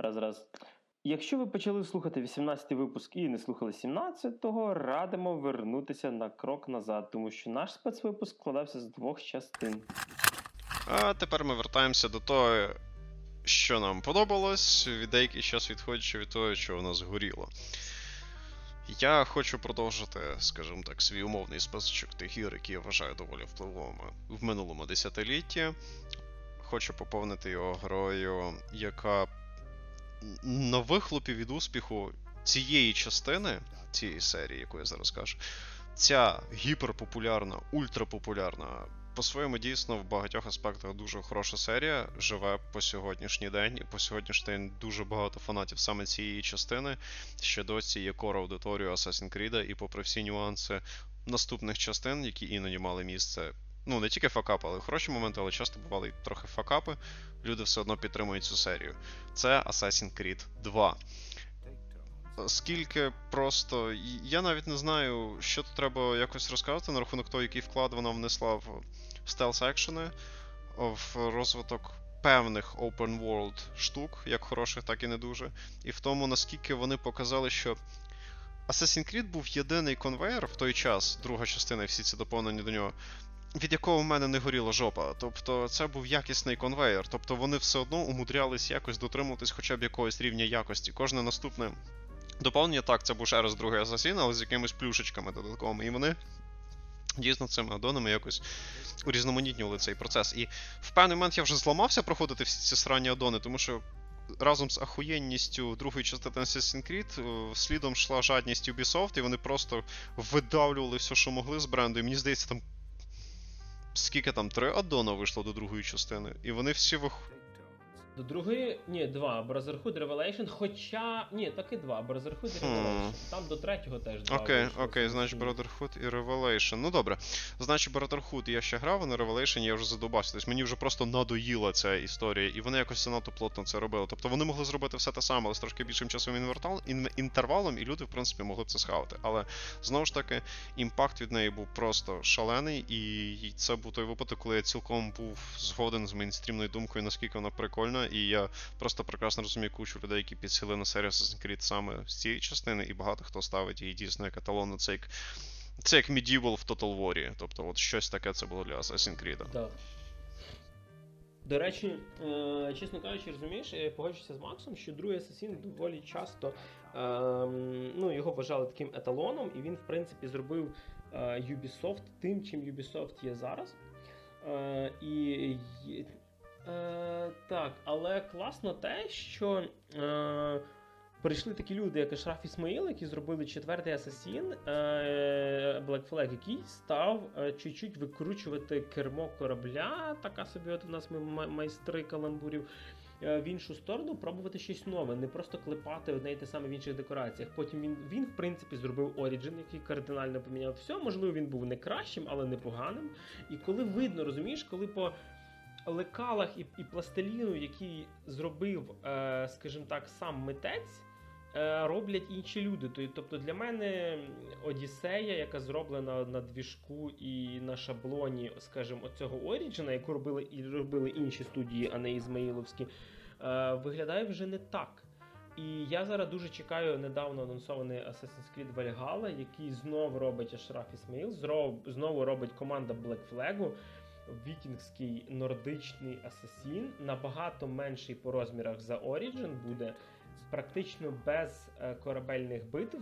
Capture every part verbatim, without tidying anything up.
Раз, раз. Якщо ви почали слухати вісімнадцятий випуск і не слухали сімнадцятого, радимо вернутися на крок назад, тому що наш спецвипуск складався з двох частин. А тепер ми вертаємося до того, що нам подобалось, від деякий час відходячи від того, що у нас горіло. Я хочу продовжити, скажімо так, свій умовний списочок тих ігор, які я вважаю доволі впливовими в минулому десятилітті. Хочу поповнити його грою, яка на вихлопі від успіху цієї частини, цієї серії, яку я зараз кажу, ця гіперпопулярна, ультрапопулярна, по-своєму дійсно в багатьох аспектах дуже хороша серія, живе по сьогоднішній день, і по сьогоднішній день дуже багато фанатів саме цієї частини, ще досі є кор аудиторію Assassin's Creed, і попри всі нюанси наступних частин, які іноді мали місце, ну не тільки факапи, але хороші моменти, але часто бували і трохи факапи, люди все одно підтримують цю серію. Це Assassin's Creed два. Скільки просто... Я навіть не знаю, що тут треба якось розказати на рахунок того, який вклад вона внесла в стелс-екшени, в розвиток певних open world штук, як хороших, так і не дуже. І в тому, наскільки вони показали, що Assassin's Creed був єдиний конвейер в той час, друга частина і всі ці доповнення до нього, від якого в мене не горіла жопа. Тобто це був якісний конвейер. Тобто вони все одно умудрялись якось дотримуватись хоча б якогось рівня якості. Кожне наступне доповнення, так, це був ще раз другий Асасін, але з якимись плюшечками додатковими. І вони дійсно цими аддонами якось урізноманітнювали цей процес. І в певний момент я вже зламався проходити всі ці сранні аддони, тому що разом з ахуєнністю другої частини Assassin's Creed слідом йшла жадність Ubisoft, і вони просто видавлювали все, що могли з бренду. І мені здається, там скільки там, три аддона вийшло до другої частини, і вони всі вих... До другої, ні, два, Brotherhood, Revelation, хоча, ні, таки два, Brotherhood і Revelation, hmm. там до третього теж два. Окей, okay, окей, okay, значить Brotherhood і Revelation, ну добре, значить Brotherhood я ще грав, а на Revelation я вже задобався, тобто мені вже просто надоїла ця історія, і вони якось занадто плотно це робили, тобто вони могли зробити все те саме, але з трошки більшим часовим інтервалом, і люди, в принципі, могли б це схавати, але, знову ж таки, імпакт від неї був просто шалений, і це був той випадок, коли я цілком був згоден з мейнстрімною думкою, наскільки вона прикольна. І я просто прекрасно розумію кучу людей, які підсіли на серію Assassin's Creed саме з цієї частини, і багато хто ставить її дійсно як еталон. Це як, це як Medieval в Total War. Тобто от щось таке це було для Assassin's Creed. Так. До речі, е- чесно кажучи, розумієш, я погоджуся з Максом, що другий Assassin доволі часто е- ну, його вважали таким еталоном, і він, в принципі, зробив е- Ubisoft тим, чим Ubisoft є зараз. Е- і... Е, так, але класно те, що е, прийшли такі люди, як Ашраф Ісмаїл, які зробили четвертий Асасін, е, Black Flag, який став е, чуть-чуть викручувати кермо корабля, така собі от у нас ми майстри каламбурів, е, в іншу сторону, пробувати щось нове, не просто клепати одне й те саме в інших декораціях. Потім він, він в принципі, зробив Origin, який кардинально поміняв все, можливо, він був не кращим, але непоганим. І коли видно, розумієш, коли по лекалах і, і пластиліну, який зробив, е, скажімо так, сам митець, е, роблять інші люди. Тобто для мене Одіссея, яка зроблена на двіжку і на шаблоні, скажімо, оцього Origin, яку робили, і робили інші студії, а не ізмаїловські, е, виглядає вже не так. І я зараз дуже чекаю недавно анонсований Assassin's Creed Valhalla, який знову робить Ашраф Ісмаїл, знову робить команда Black Flag, вікінгський нордичний асасін, набагато менший по розмірах за Origin, буде практично без е, корабельних битв,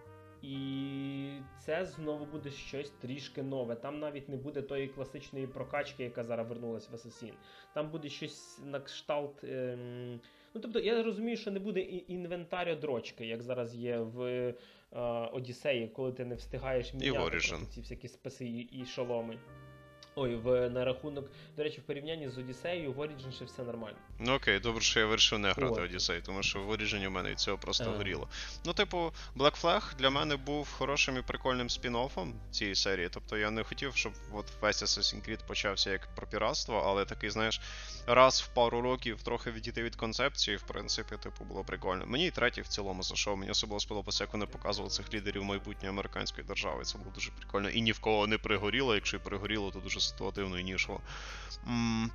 і це знову буде щось трішки нове. Там навіть не буде тої класичної прокачки, яка зараз вернулась в Assassin. Там буде щось на кшталт... Е, ну, тобто, я розумію, що не буде інвентарю-дрочки, як зараз є в е, Одіссеї, коли ти не встигаєш міняти ці всякі списи і, і шоломи. Ой, в, на рахунок, до речі, в порівнянні з Одіссеєю, в Origin ще все нормально. Ну окей, добре, що я вирішив не грати Одіссей, тому що в Origin у мене від цього просто ага. горіло. Ну, типу, Black Flag для мене був хорошим і прикольним спін-оффом цієї серії. Тобто я не хотів, щоб от весь Assassin's Creed почався як про піратство, але такий, знаєш, раз в пару років трохи відійти від концепції, в принципі, типу, було прикольно. Мені і третій в цілому зайшов, мені особливо сподобалося, як вони показували цих лідерів майбутньої американської держави. Це було дуже прикольно. І ні в кого не пригоріло, якщо і пригоріло, то дуже ситуативно і нішло. М-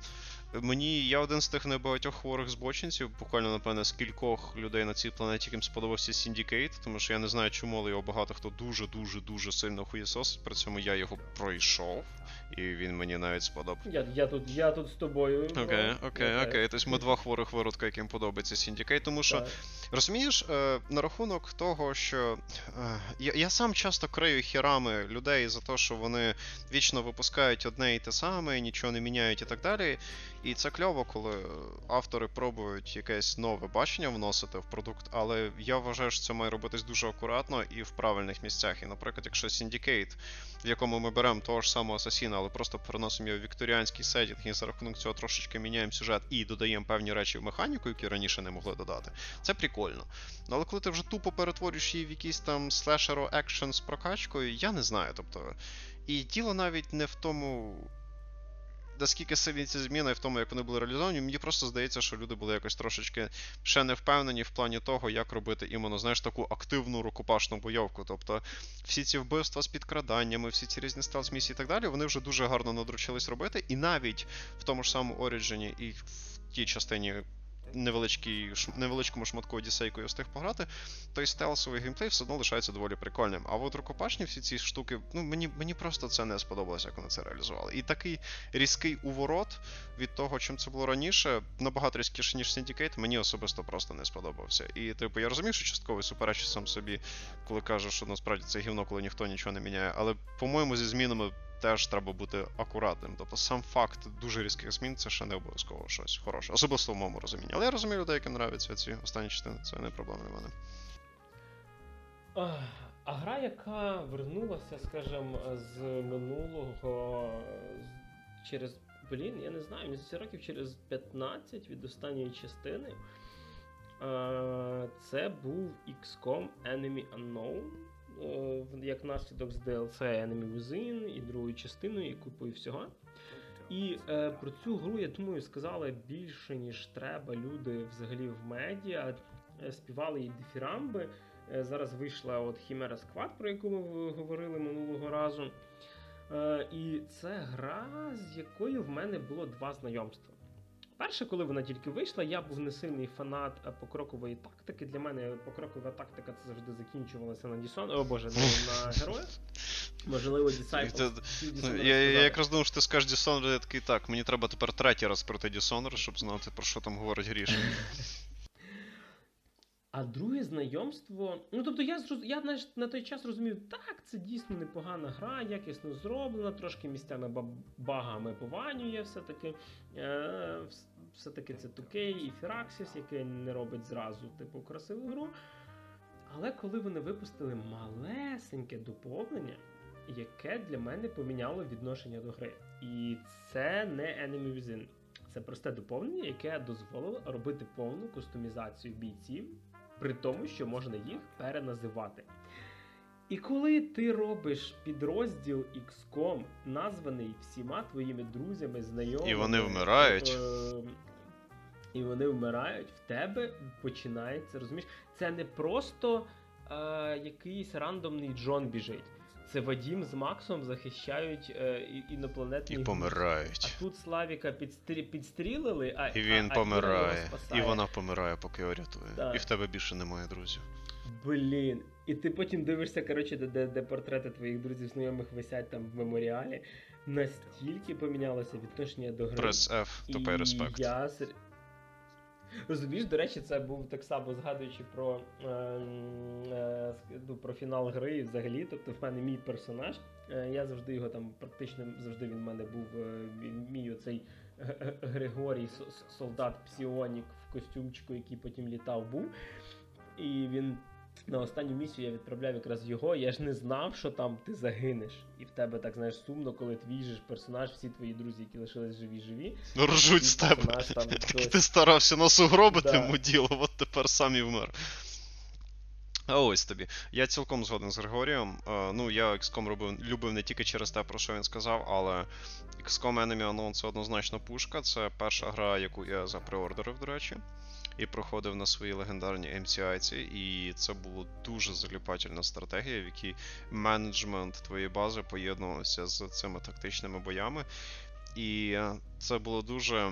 Мені, я один з тих небагатьох хворих збочинців, буквально, напевне, з кількох людей на цій планеті, яким сподобався Syndicate, тому що я не знаю, чому, але його багато хто дуже-дуже-дуже сильно хуєсосить, при цьому я його пройшов, і він мені навіть сподобав. Я, я, тут, я тут з тобою. Окей, okay, окей, okay, окей. Okay. Тобто ми два хворих виродка, яким подобається Syndicate, тому що, так. Розумієш, е, на рахунок того, що е, я, я сам часто крию херами людей за те, що вони вічно випускають одне і те саме, нічого не міняють і так далі. І це кльово, коли автори пробують якесь нове бачення вносити в продукт, але я вважаю, що це має робитись дуже акуратно і в правильних місцях. І, наприклад, якщо Syndicate, в якому ми беремо того ж самого Асасіна, але просто переносимо його в вікторіанський сеттінг і за рахунок цього трошечки міняємо сюжет і додаємо певні речі в механіку, які раніше не могли додати, це прикольно. Але коли ти вже тупо перетворюєш її в якийсь там слешеро екшен з прокачкою, я не знаю, тобто... І діло навіть не в тому... наскільки сильні ці зміни в тому, як вони були реалізовані, мені просто здається, що люди були якось трошечки ще не впевнені в плані того, як робити іменно, знаєш, таку активну рукопашну бойовку. Тобто всі ці вбивства з підкраданнями, всі ці різні стелс-місії і так далі, вони вже дуже гарно надручились робити, і навіть в тому ж самому Origin і в тій частині невеличкому шматку Одіссей, яку я встиг пограти, той стелсовий геймплей все одно лишається доволі прикольним. А от рукопашні всі ці штуки, ну мені, мені просто це не сподобалося, як вони це реалізували. І такий різкий уворот від того, чим це було раніше, набагато різкіше, ніж Syndicate, мені особисто просто не сподобався. І, типу, я розумію, що частково суперечу сам собі, коли кажу, що насправді це гівно, коли ніхто нічого не міняє, але, по-моєму, зі змінами теж треба бути акуратним. Тобто сам факт дуже різких змін, це ще не обов'язково щось хороше. Особисто в моєму розумінні. Але я розумію людей, яким нравляться ці останні частини. Це не проблема для мене. А, а гра, яка вернулася, скажімо, з минулого з, через, блін, я не знаю, місяці років через п'ятнадцять від останньої частини, а, це був ікс ком Enemy Unknown. Як наслідок з ді ел сі Enemy Within і другою частиною, і купою всього. І е, про цю гру, я думаю, сказали більше, ніж треба люди взагалі в медіа. Е, співали їй дифірамби. Е, зараз вийшла от Chimera Squad, про яку ми говорили минулого разу. Е, і це гра, з якою в мене було два знайомства. Перше, коли вона тільки вийшла, я був не сильний фанат покрокової тактики. Для мене покрокова тактика це завжди закінчувалася на Дісон... О боже, не на героях. Можливо, Disciples. Я, я якраз думав, що ти скажеш Dishonored, я такий, так, мені треба тепер третій раз проти Dishonored, щоб знати, про що там говорить Гріша. А друге знайомство... Ну, тобто, я, я знаєш, на той час розумів, так, це дійсно непогана гра, якісно зроблена, трошки місцями багами пованює все-таки. Е, все-таки це ту кей і Firaxis, яке не робить зразу, типу, красиву гру. Але коли вони випустили малесеньке доповнення, яке для мене поміняло відношення до гри. І це не Enemy Within. Це просте доповнення, яке дозволило робити повну кастомізацію бійців, при тому, що можна їх переназивати. І коли ти робиш підрозділ ікс ком, названий всіма твоїми друзями, знайомими... І вони вмирають. Е- і вони вмирають, в тебе починається, розумієш? Це не просто е- якийсь рандомний Джон біжить. Це Вадім з Максом захищають е, інопланетні... І помирають. А тут Славіка підстрі... підстрілили, а і він а, помирає. І вона помирає, поки його рятує. Да. І в тебе більше немає друзів. Блін. І ти потім дивишся, коротше, де, де, де портрети твоїх друзів знайомих висять там в меморіалі. Настільки помінялося відношення до гри. Press F, to pay respect. Я... Розумієш, до речі, це був так само, згадуючи про, е, е, про фінал гри взагалі, тобто в мене мій персонаж, е, я завжди його там, практично завжди він в мене був, е, мій оцей Григорій, солдат Псіонік в костюмчику, який потім літав, був, і він на останню місію я відправляв якраз його, я ж не знав, що там ти загинеш. І в тебе, так, знаєш, сумно, коли твій же персонаж, всі твої друзі, які лишились живі-живі. Ну, ржуть з тебе. Так ти старався нас угробити, да. Муділо, от тепер сам і вмер. А ось тобі. Я цілком згоден з Григорієм. Uh, ну, я ікс ком робив, любив не тільки через те, про що він сказав, але ікс ком Enemy Unknown — це однозначно пушка. Це перша гра, яку я запреордерив, до речі. І проходив на своїй легендарній ем сі ай-ці, і це була дуже заліпательна стратегія, в якій менеджмент твоєї бази поєднувався з цими тактичними боями. І е, це було дуже.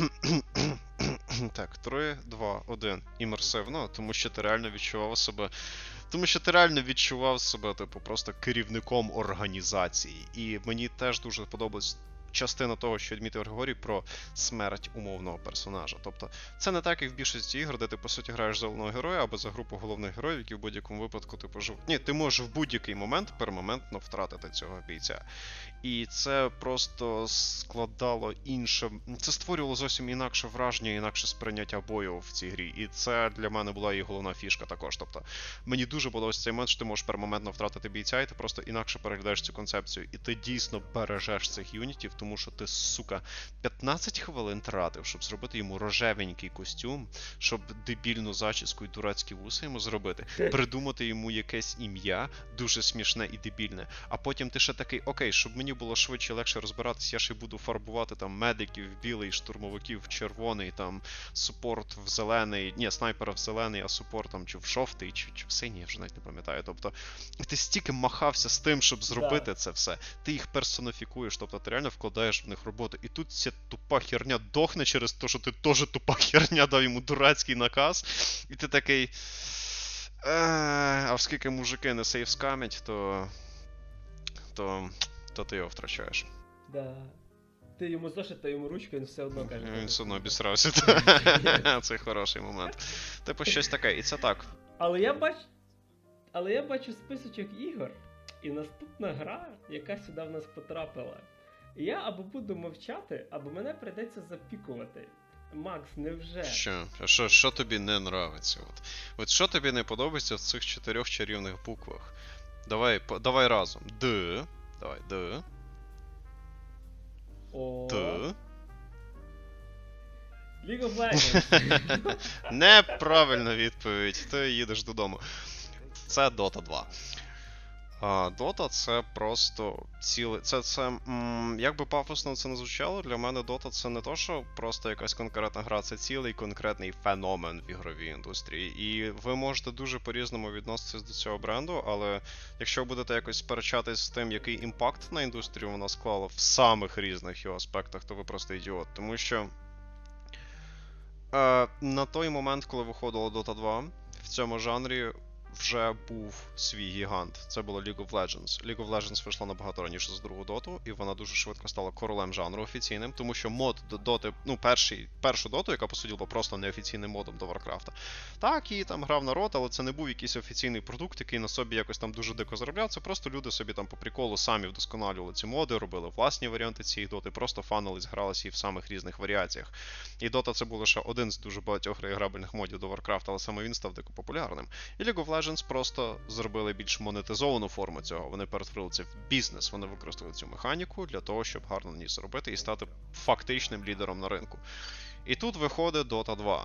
Так, три, два, один. Імерсивно, тому що ти реально відчував себе. Тому що ти реально відчував себе, типу, просто керівником організації. І мені теж дуже подобалось частина того, що відмітив Григорій, про смерть умовного персонажа. Тобто, це не так, як в більшості ігор, де ти, по суті, граєш за головного героя або за групу головних героїв, які в будь-якому випадку типу живуть. Ні, ти можеш в будь-який момент пермоментно втратити цього бійця. І це просто складало інше. Це створювало зовсім інакше враження, інакше сприйняття бою в цій грі. І це для мене була і головна фішка також. Тобто, мені дуже подобається цей момент, що ти можеш пермоментно втратити бійця, і ти просто інакше переглядаєш цю концепцію. І ти дійсно бережеш цих юнітів, тому що ти, сука, п'ятнадцять хвилин тратив, щоб зробити йому рожевенький костюм, щоб дебільну зачіску і дурацькі вуси йому зробити, придумати йому якесь ім'я, дуже смішне і дебільне. А потім ти ще такий, окей, щоб мені було швидше, легше розбиратися, я ще буду фарбувати там медиків в білий, штурмовиків в червоний, там супорт в зелений, ні, снайпера в зелений, а супорт там чи в жовтий, чи, чи в синій, я вже навіть не пам'ятаю. Тобто, ти стільки махався з тим, щоб зробити да. це все. Ти їх персоніфікуєш, тобто ти реально вкладаєш в них роботу. І тут ця тупа херня дохне через те, що ти теж тупа херня дав йому дурацький наказ. І ти такий. А оскільки мужики не сейвскамять, то. то. то ти його втрачаєш. Да. Ти йому зошит, та йому ручку, він все одно каже. Він все одно обісрався. Це хороший момент. Типу щось таке, і це так. Але я бачу. Але я бачу списочок ігор, і наступна гра, яка сюди в нас потрапила. Я або буду мовчати, або мене прийдеться запікувати. Макс, невже? Що? Що, що тобі не нравиться? От. От що тобі не подобається в цих чотирьох чарівних буквах? Давай, по, давай разом. Д. Давай, Д. О. Т. League of Legends. Неправильна відповідь. Ти їдеш додому. Це Dota два. А, Dota це просто ціле. Це, це, м, як би пафосно це не звучало, для мене Dota це не то, що просто якась конкретна гра, це цілий конкретний феномен в ігровій індустрії. І ви можете дуже по-різному відноситись до цього бренду, але якщо будете якось сперечатись з тим, який імпакт на індустрію вона склала в самих різних його аспектах, то ви просто ідіот. Тому що е, на той момент, коли виходила Dota два, в цьому жанрі вже був свій гігант. Це було League of Legends. League of Legends вийшла набагато раніше за другу доту, і вона дуже швидко стала королем жанру офіційним, тому що мод до доти, ну, перший, першу доту, яка, по суті, була просто неофіційним модом до Варкрафта. Так, її там грав народ, але це не був якийсь офіційний продукт, який на собі якось там дуже дико заробляв. Це просто люди собі там по приколу самі вдосконалювали ці моди, робили власні варіанти цієї доти, просто фанились, гралися її в самих різних варіаціях. І дота це був лише один з дуже багатьох реіграбельних модів до Варкрафта, але саме він став дико популярним. І League of Legends просто зробили більш монетизовану форму цього. Вони перетворили це в бізнес, вони використали цю механіку для того, щоб гарно на ній заробити і стати фактичним лідером на ринку. І тут виходить Dota два.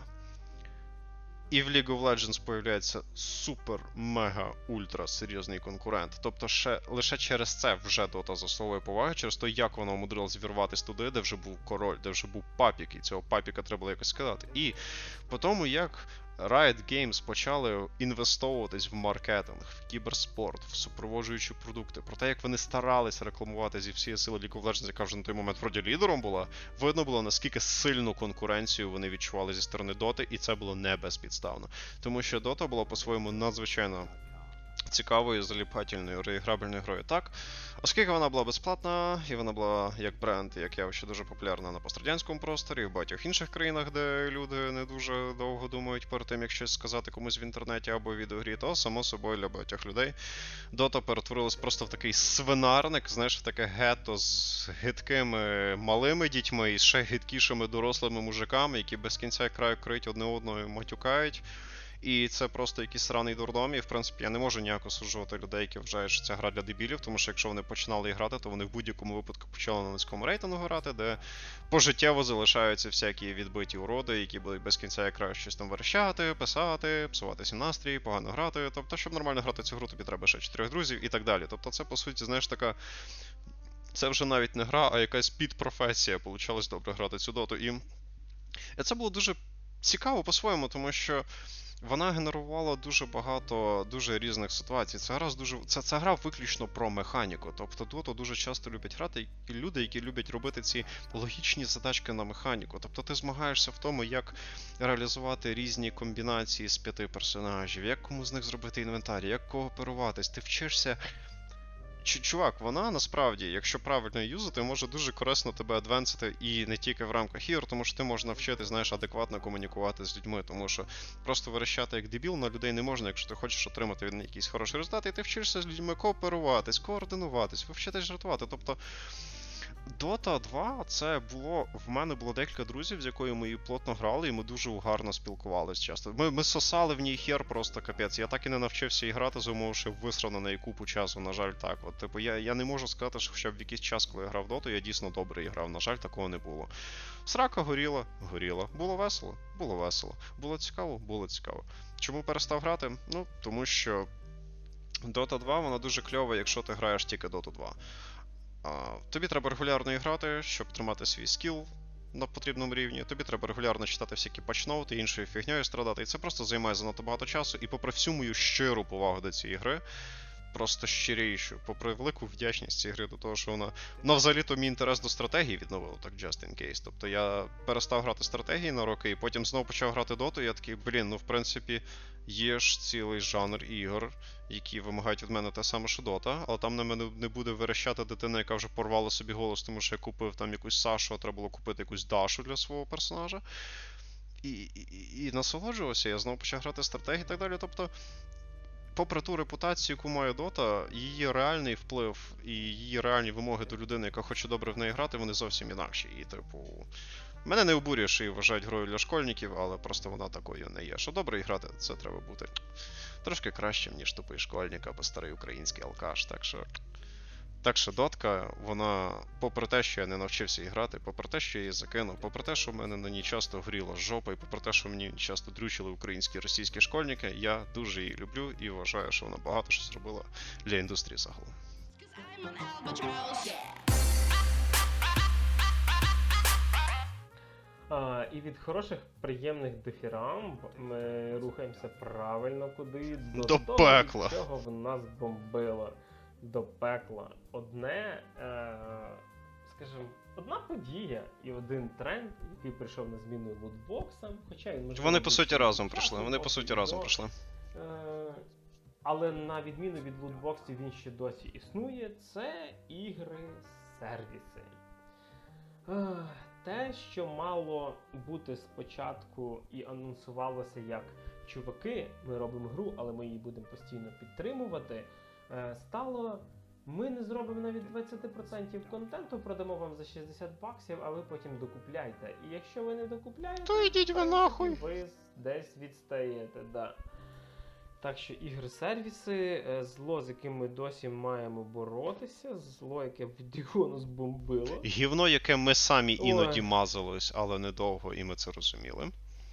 І в League of Legends появляється супер-мега-ультра серйозний конкурент. Тобто ще, лише через це вже Dota заслуговує поваги, через те, як вона умудрилась вірватися туди, де вже був король, де вже був папік, і цього папіка треба було якось скидати. І по тому, як Riot Games почали інвестовуватись в маркетинг, в кіберспорт, в супроводжуючі продукти. Про те, як вони старалися рекламувати зі всієї сили League of Legends, яка вже на той момент вроді лідером була, видно було, наскільки сильну конкуренцію вони відчували зі сторони Доти, і це було не безпідставно. Тому що Дота була по-своєму надзвичайно цікавою, заліпательною, реіграбельною грою. Так, оскільки вона була безплатна, і вона була як бренд, як явище дуже популярна на пострадянському просторі, і в багатьох інших країнах, де люди не дуже довго думають перед тим, як щось сказати комусь в інтернеті або в відеогрі, то, само собою, для багатьох людей Дота перетворилась просто в такий свинарник, знаєш, в таке гетто з гидкими малими дітьми і ще гидкішими дорослими мужиками, які без кінця і краю криють одне одного і матюкають. І це просто якийсь сраний дурдом, і в принципі я не можу ніяк осуджувати людей, які вважають, що ця гра для дебілів, тому що якщо вони починали грати, то вони в будь-якому випадку почали на низькому рейтингу грати, де пожиттєво залишаються всякі відбиті уроди, які будуть без кінця і краю щось там верещати, писати, псувати всім настрій, погано грати. Тобто, щоб нормально грати цю гру, тобі треба ще чотирьох друзів і так далі. Тобто це, по суті, знаєш, така... Це вже навіть не гра, а якась підпрофесія. Получалось добре грати цю доту. І це було дуже цікаво по-своєму, тому що вона генерувала дуже багато дуже різних ситуацій. Ця гра дуже це, це гра виключно про механіку. Тобто Доту дуже часто люблять грати люди, які люблять робити ці логічні задачки на механіку. Тобто ти змагаєшся в тому, як реалізувати різні комбінації з п'яти персонажів, як кому з них зробити інвентар, як кооперуватись. Ти вчишся. Чувак, вона насправді, якщо правильно її юзати, може дуже корисно тебе адвенсити і не тільки в рамках ігор, тому що ти можеш навчити, знаєш, адекватно комунікувати з людьми, тому що просто верещати як дебіл на людей не можна, якщо ти хочеш отримати від них якийсь хороший результат, і ти вчишся з людьми кооперуватись, координуватись, ви вчитесь жартувати. Тобто Дота два це було, в мене було декілька друзів, з якою ми її плотно грали, і ми дуже гарно спілкувалися часто. Ми, ми сосали в ній хер просто капець. Я так і не навчився її грати, за умови, що висрав на неї купу часу, на жаль, так. От, типу, я, я не можу сказати, що хоча б в якийсь час, коли я грав в Доту, я дійсно добре грав. На жаль, такого не було. Срака горіла, горіла. Було весело? Було весело. Було цікаво? Було цікаво. Чому перестав грати? Ну, тому що Дота два, вона дуже кльова, якщо ти граєш тільки Доту два. Тобі треба регулярно і грати, щоб тримати свій скіл на потрібному рівні. Тобі треба регулярно читати всякі патчноути, іншою фігньою страдати. І це просто займає занадто багато часу. І попри всю мою щиру повагу до цієї гри, просто щирішу, попри велику вдячність цієї гри до того, що вона... Ну, взагалі-то мій інтерес до стратегії відновив, так, just in case. Тобто я перестав грати стратегії на роки, і потім знову почав грати доту, і я такий, блін, ну, в принципі, є ж цілий жанр ігор, які вимагають від мене те саме, що дота, але там на мене не буде верещати дитина, яка вже порвала собі голос, тому що я купив там якусь Сашу, а треба було купити якусь Дашу для свого персонажа. І, і, і насолоджувався, я знову почав грати стратегії і так далі. Тобто, попри ту репутацію, яку має Дота, її реальний вплив і її реальні вимоги до людини, яка хоче добре в неї грати, вони зовсім інакші. І, типу, мене не обурює, що її вважають грою для школьників, але просто вона такою не є. Що добре грати, це треба бути трошки кращим, ніж тупий школьник або старий український алкаш. Так що, так що Дотка, вона, попри те, що я не навчився її грати, попри те, що я її закинув, попри те, що в мене на ній часто горіла жопа, і попри те, що мені часто дрючили українські і російські школьники, я дуже її люблю і вважаю, що вона багато що зробила для індустрії загалом. А, і від хороших, приємних дифірамб ми рухаємося правильно куди? До, до того, пекла. Чого в нас бомбило. До пекла. Одне, е, скажімо, одна подія і один тренд, який прийшов на зміну лутбоксам, хоча він можливо... Вони по суті разом прийшли, вони по суті разом до, прийшли. Е, але на відміну від лутбоксів він ще досі існує, це ігри-сервіси. Е, те, що мало бути спочатку і анонсувалося як чуваки, ми робимо гру, але ми її будемо постійно підтримувати, стало, ми не зробимо навіть двадцять відсотків контенту, продамо вам за шістдесят баксів, а ви потім докупляйте. І якщо ви не докупляєте, то йдіть ви нахуй. Ви десь відстаєте, да. Так що ігри-сервіси, зло, з яким ми досі маємо боротися, зло, яке в Дігону збомбило. Гівно, яке ми самі іноді Ой. мазались, але недовго, і ми це розуміли.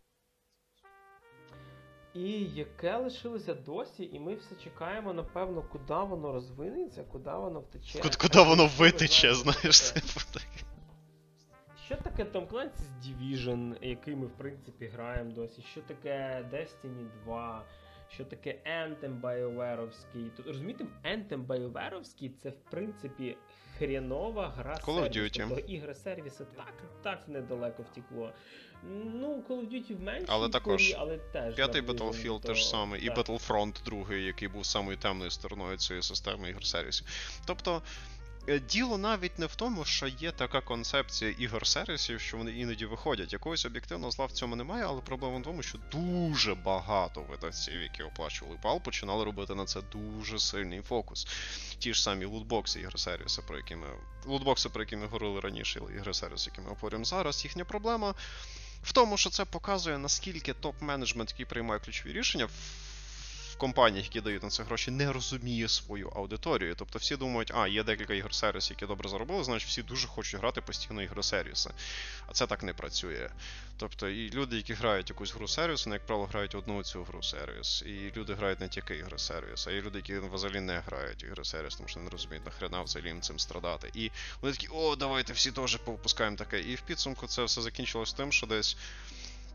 І яке лишилося досі, і ми все чекаємо, напевно, куди воно розвинеться, куди воно втече. Куди, куди воно витече, знаєш, це. типу так. Що таке Tom Clancy's Division, який ми, в принципі, граємо досі? Що таке Destiny два? Що таке Anthem BioWare'овський? Тут, розумієте, Anthem BioWare'овський – це, в принципі, хренова гра Call of сервіс. Duty. Тобто ігри-сервіси так, так недалеко втекло. Ну, Call of Duty в меншій Але також порі, але теж П'ятий наближено Battlefield до- теж саме, і так. Battlefront другий, який був самою темною стороною цієї системи ігор-сервісів. Тобто, е, діло навіть не в тому, що є така концепція ігор-сервісів, що вони іноді виходять. Якогось об'єктивного зла в цьому немає, але проблема в тому, що дуже багато видавців, які оплачували бал, починали робити на це дуже сильний фокус. Ті ж самі лутбокси ігри-сервіси, про які ми... Лутбокси, про які ми говорили раніше, ігри-сервіси, які ми обговорюємо зараз, їхня проблема в тому, що це показує, наскільки топ-менеджмент, який приймає ключові рішення в компаніях, які дають на це гроші, не розуміє свою аудиторію. Тобто всі думають, а, є декілька ігор-сервісів, які добре заробили, значить всі дуже хочуть грати постійно ігри-сервіси. А це так не працює. Тобто і люди, які грають якусь гру-сервіс, вони, як правило, грають одну цю гру-сервіс. І люди грають не тільки ігри-сервіс, а є люди, які взагалі не грають ігри-сервіс, тому що не розуміють, нахрена взагалі їм цим страдати. І вони такі, о, давайте всі теж повпускаємо таке. І в підсумку це все закінчилось тим, що десь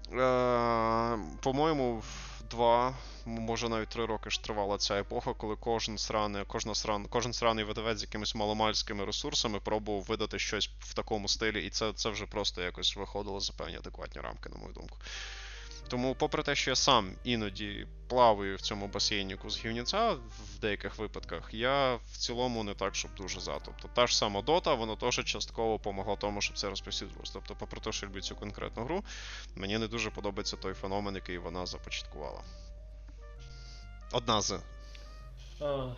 Е, по-моєму, два, може навіть три роки ж тривала ця епоха, коли кожен сраний, кожна сран, кожен сраний видавець з якимись маломальськими ресурсами пробував видати щось в такому стилі, і це, це вже просто якось виходило за певні адекватні рамки, на мою думку. Тому, попри те, що я сам іноді плаваю в цьому басейніку з гівняця в деяких випадках, я в цілому не так, щоб дуже за. Тобто та ж сама Dota, вона теж частково помогла тому, щоб це розповсюджувалося. Тобто, попри те, що я люблю цю конкретну гру, мені не дуже подобається той феномен, який вона започаткувала. Одна з. А,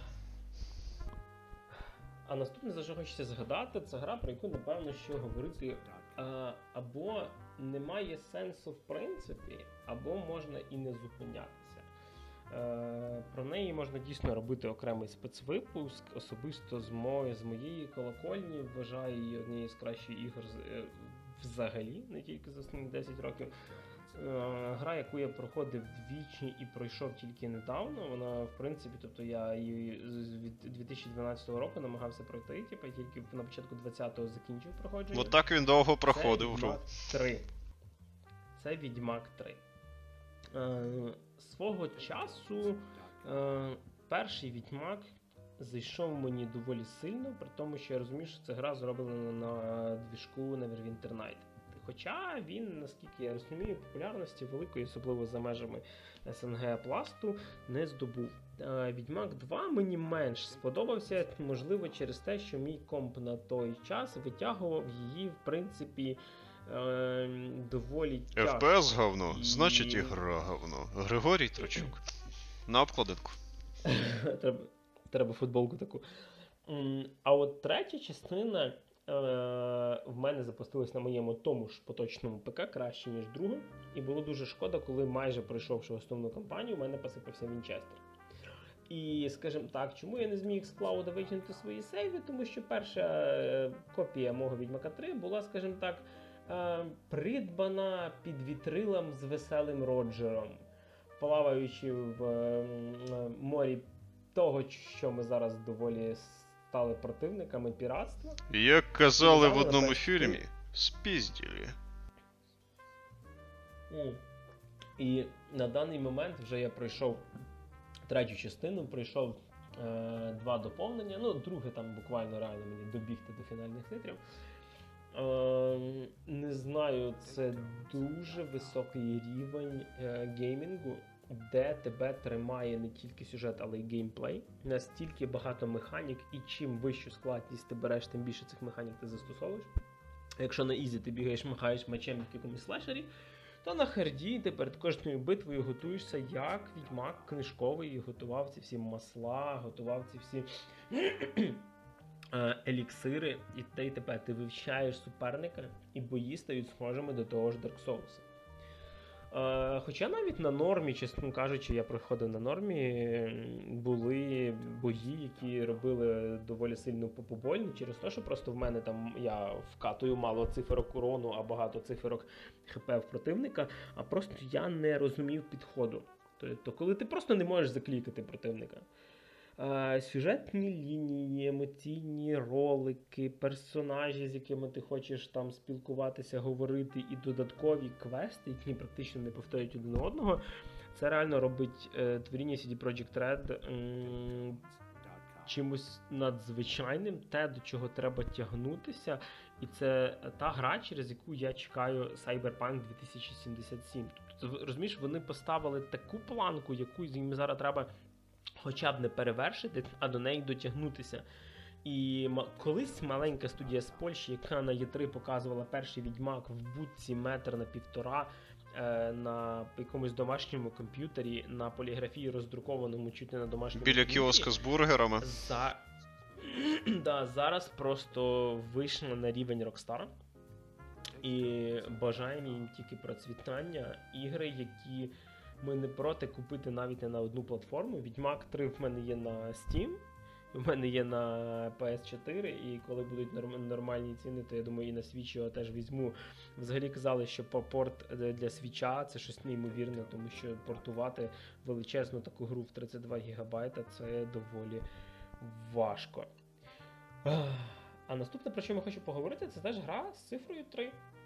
а наступне, за що хочеться згадати, це гра, про яку, напевно, що говорити а, або немає сенсу в принципі, або можна і не зупинятися. Е, про неї можна дійсно робити окремий спецвипуск. Особисто з, мо... з моєї колокольні вважаю її однією з кращих ігор е, взагалі, не тільки за останні десять років. Е, гра, яку я проходив двічі і пройшов тільки недавно, вона, в принципі, тобто я її з дві тисячі дванадцятого року намагався пройти, типу, тільки на початку двадцятого закінчив проходження. От так він довго проходив гру. Це Відьмак три. Це Відьмак три. Е, свого часу е, перший Відьмак зайшов мені доволі сильно, при тому, що я розумію, що ця гра зроблена на двіжку Neverwinter Night. Хоча він, наскільки я розумію, популярності великої, особливо за межами ес ен ге пласту, не здобув. Відьмак два мені менш сподобався, можливо, через те, що мій комп на той час витягував її, в принципі, е- доволі тяжко. еф пі ес говно, І... значить і гра говно. Григорій Трочук. На обкладинку. треба, треба футболку таку. А от третя частина в мене запустилось на моєму тому ж поточному ПК краще, ніж друга. І було дуже шкода, коли майже пройшовши основну кампанію, в мене посипався Вінчестер. І, скажімо так, чому я не зміг з клауда викинути свої сейви? Тому що перша копія мого Відьмака три була, скажімо так, придбана під вітрилом з веселим Роджером, плаваючи в морі того, що ми зараз доволі стали противниками піратства. Як казали в одному фільмі, спізділі. І на даний момент вже я пройшов третю частину, пройшов е, два доповнення, ну, друге там буквально реально мені добігти до фінальних титрів. Е, не знаю, це дуже високий рівень е, геймінгу, де тебе тримає не тільки сюжет, але й геймплей. Настільки багато механік, і чим вищу складність ти береш, тим більше цих механік ти застосовуєш. Якщо на ізі ти бігаєш, махаєш мечем в якомусь слешері, то на харді ти перед кожною битвою готуєшся як Відьмак книжковий, готував ці всі масла, готував ці всі еліксири, і те й тепер ти вивчаєш суперника, і бої стають схожими до того ж Dark Souls. Uh, хоча навіть на нормі, чесно кажучи, я проходив на нормі, були бої, які робили доволі сильну попобольну, через те, що просто в мене там я вкатую мало циферок урону, а багато циферок хп в противника, а просто я не розумів підходу. Тобто, коли ти просто не можеш заклікати противника. Uh, сюжетні лінії, емоційні ролики, персонажі, з якими ти хочеш там спілкуватися, говорити, і додаткові квести, які практично не повторюють один одного, це реально робить е, творіння сі ді Projekt Red м- чимось надзвичайним, те, до чого треба тягнутися, і це та гра, через яку я чекаю Cyberpunk дві тисячі сімдесят сім. Тобто, розумієш, вони поставили таку планку, яку їм зараз треба хоча б не перевершити, а до неї дотягнутися. І м- колись маленька студія з Польщі, яка на Є три показувала перший Відьмак в будці метр на півтора е- на якомусь домашньому комп'ютері, на поліграфії роздрукованому чуть не на домашньому Біля комп'ютері. кіоска з бургерами. За... да, зараз просто вийшла на рівень Rockstar. І бажаємо їм тільки процвітання. Ігри, які ми не проти купити навіть не на одну платформу. Відьмак три в мене є на Steam, в мене є на пі ес чотири, і коли будуть норм- нормальні ціни, то я думаю і на Switch його теж візьму. Взагалі казали, що порт для Switch'а це щось неймовірне, тому що портувати величезну таку гру в тридцять два гігабайта це доволі важко. А наступне, про що я хочу поговорити, це теж гра з цифрою три.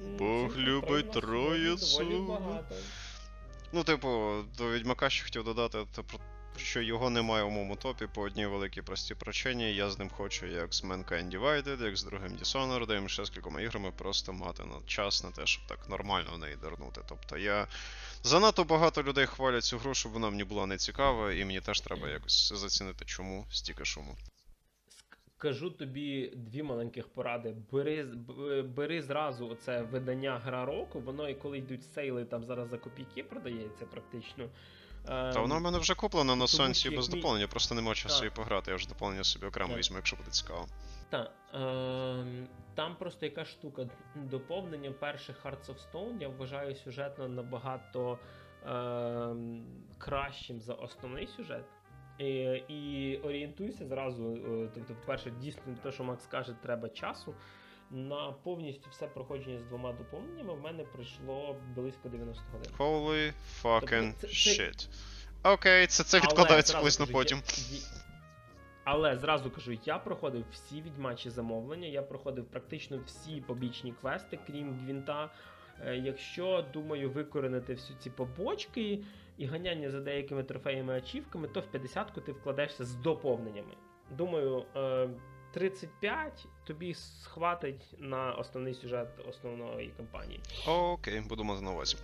м, Бог цифра три любить в нас сьогодні троїцю. доволі багато. Ну, типу, до Відьмака ще хотів додати, те, про- що його немає у моєму топі по одній великій простій причині. Я з ним хочу як з Mankind Divided, як з другим Dishonored, і ще з кількома іграми просто мати на час на те, щоб так нормально в неї дернути. Тобто я... Занадто багато людей хвалять цю гру, щоб вона мені була не цікава, і мені теж треба якось зацінити, чому стільки шуму. Кажу тобі дві маленьких поради. Бери, б- бери зразу оце видання Гра року, воно і коли йдуть сейли, там зараз за копійки продається практично. Та воно в мене вже куплено на Тому Сонці що без як мі- доповнення, просто нема часу Так. її пограти, я вже доповнення собі окремо Так. візьму, якщо буде цікаво. Так, ем, там просто яка штука. Доповнення перших Hearts of Stone я вважаю сюжетно набагато ем, кращим за основний сюжет. І, і орієнтуйся зразу, е, тобто, по-перше, дійсно те, що Макс каже, треба часу. На повністю все проходження з двома доповненнями в мене пройшло близько дев'яносто годин. Holy fucking Тобто це- це- shit. Окей, це, це Але відкладається зразу колись на кажу, потім. я- я- Але зразу кажу, я проходив всі відьмачі замовлення, я проходив практично всі побічні квести, крім Гвінта. Е, Якщо, думаю, викоренити всі ці побочки і ганяння за деякими трофеями ачівками, то в п'ятдесятку ти вкладешся з доповненнями. Думаю, е, тридцять п'ять тобі схватить на основний сюжет основної кампанії. Окей, буду мати на увазі.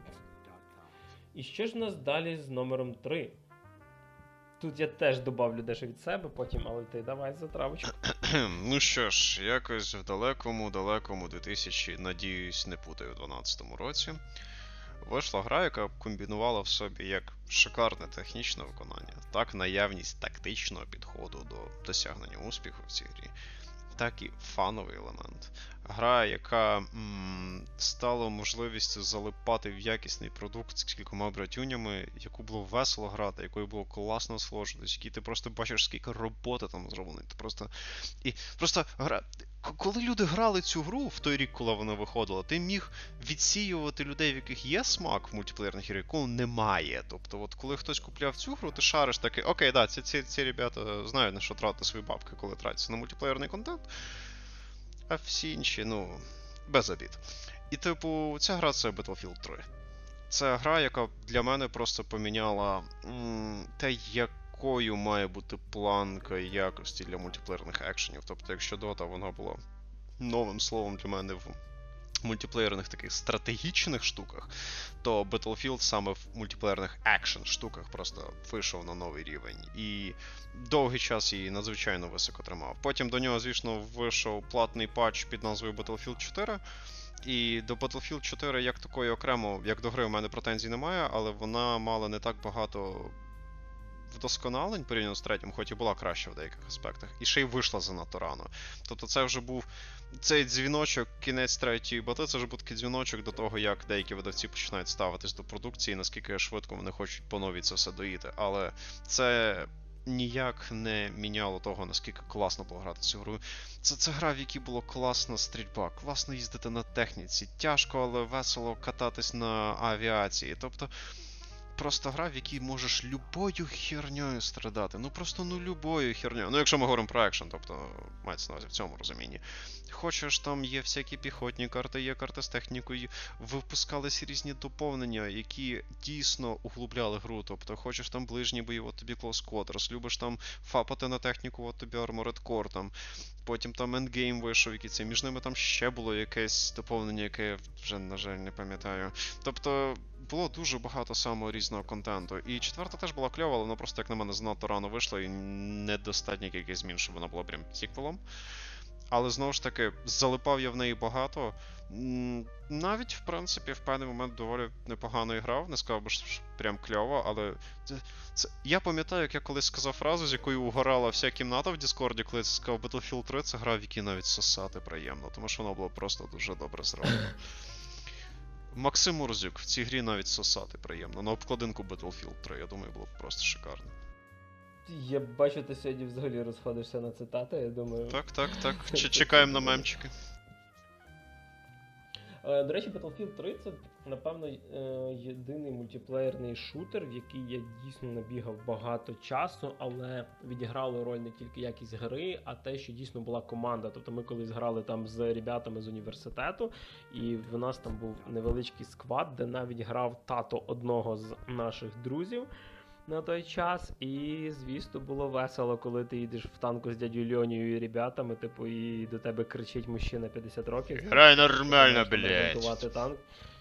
І що ж у нас далі з номером три? Тут я теж добавлю дещо від себе потім, але ти давай за травочку. Ну що ж, якось в далекому-далекому дві тисячі, надіюсь, не путаю, дванадцятому році, вийшла гра, яка комбінувала в собі як шикарне технічне виконання, так наявність тактичного підходу до досягнення успіху в цій грі, так і фановий елемент. Гра, яка м, стала можливістю залипати в якісний продукт з кількома братюнями, яку було весело грати, якою було класно насолоджуватись, який ти просто бачиш, скільки роботи там зроблено. Ти просто... І просто гра... К- Коли люди грали цю гру в той рік, коли вона виходила, ти міг відсіювати людей, в яких є смак в мультиплеєрних іграх, якого немає. Тобто, от коли хтось купляв цю гру, ти шариш такий, окей, да, ці, ці, ці ребята знають, на що тратити свої бабки, коли тратяться на мультиплеєрний контент. А всі інші, ну, без обід. І, типу, ця гра це Battlefield три. Це гра, яка для мене просто поміняла м, те, якою має бути планка якості для мультиплеєрних екшенів. Тобто, якщо Dota, вона була новим словом для мене в мультиплеєрних таких стратегічних штуках, то Battlefield саме в мультиплеєрних екшен штуках просто вийшов на новий рівень. І довгий час її надзвичайно високо тримав. Потім до нього, звісно, вийшов платний патч під назвою Battlefield чотири. І до Battlefield чотири як такої окремо, як до гри, у мене претензій немає, але вона мала не так багато вдосконалень порівняно з третім, хоч і була краща в деяких аспектах, і ще й вийшла занадто рано. Тобто це вже був цей дзвіночок, кінець третьої бати, це вже був такий дзвіночок до того, як деякі видавці починають ставитись до продукції, наскільки швидко вони хочуть по новій це все доїти. Але це ніяк не міняло того, наскільки класно було грати цю гру. Це, це гра, в якій було класна стрільба, класно їздити на техніці, тяжко, але весело кататись на авіації. Тобто просто гра, в якій можеш любою херньою страдати. Ну просто ну любою херньою. Ну якщо ми говоримо про екшен, тобто мається на увазі в цьому розумінні. Хочеш, там є всякі піхотні карти, є карти з технікою, випускались різні доповнення, які дійсно углубляли гру. Тобто хочеш там ближній бій, от тобі Close Quarters, любиш там фапати на техніку, от тобі Armored Core, там. Потім там Endgame вийшов, який це. Між ними там ще було якесь доповнення, яке я вже, на жаль, не пам'ятаю. Тобто було дуже багато самого різного контенту. І четверта теж була кльова, але вона просто, як на мене, занадто рано вийшла і недостатня кількість змін, щоб вона була прям сіквелом. Але, знову ж таки, залипав я в неї багато. Навіть, в принципі, в певний момент доволі непогано грав. Не сказав би, що прям кльово, але це, це... я пам'ятаю, як я колись сказав фразу, з якою угорала вся кімната в Діскорді, коли я сказав Battlefield три, це гра, в якій навіть сосати приємно, тому що вона була просто дуже добре зроблена. Максим Мурзюк, в цій грі навіть сосати приємно. На обкладинку Battlefield три, я думаю, було б просто шикарно. Я бачу, ти сьогодні взагалі розходишся на цитати, я думаю. Так, так, так. Чекаємо на мемчики. До речі, Battlefield три – це, напевно, єдиний мультиплеєрний шутер, в який я дійсно набігав багато часу, але відіграло роль не тільки якість гри, а те, що дійсно була команда. Тобто ми колись грали там з ребятами з університету, і в нас там був невеличкий сквад, де навіть грав тато одного з наших друзів на той час, і, звісно, було весело, коли ти їдеш в танку з дядю Льонію і ребятами, типу, і до тебе кричить мужчина п'ятдесят років. Грай нормально, блядь. Танк.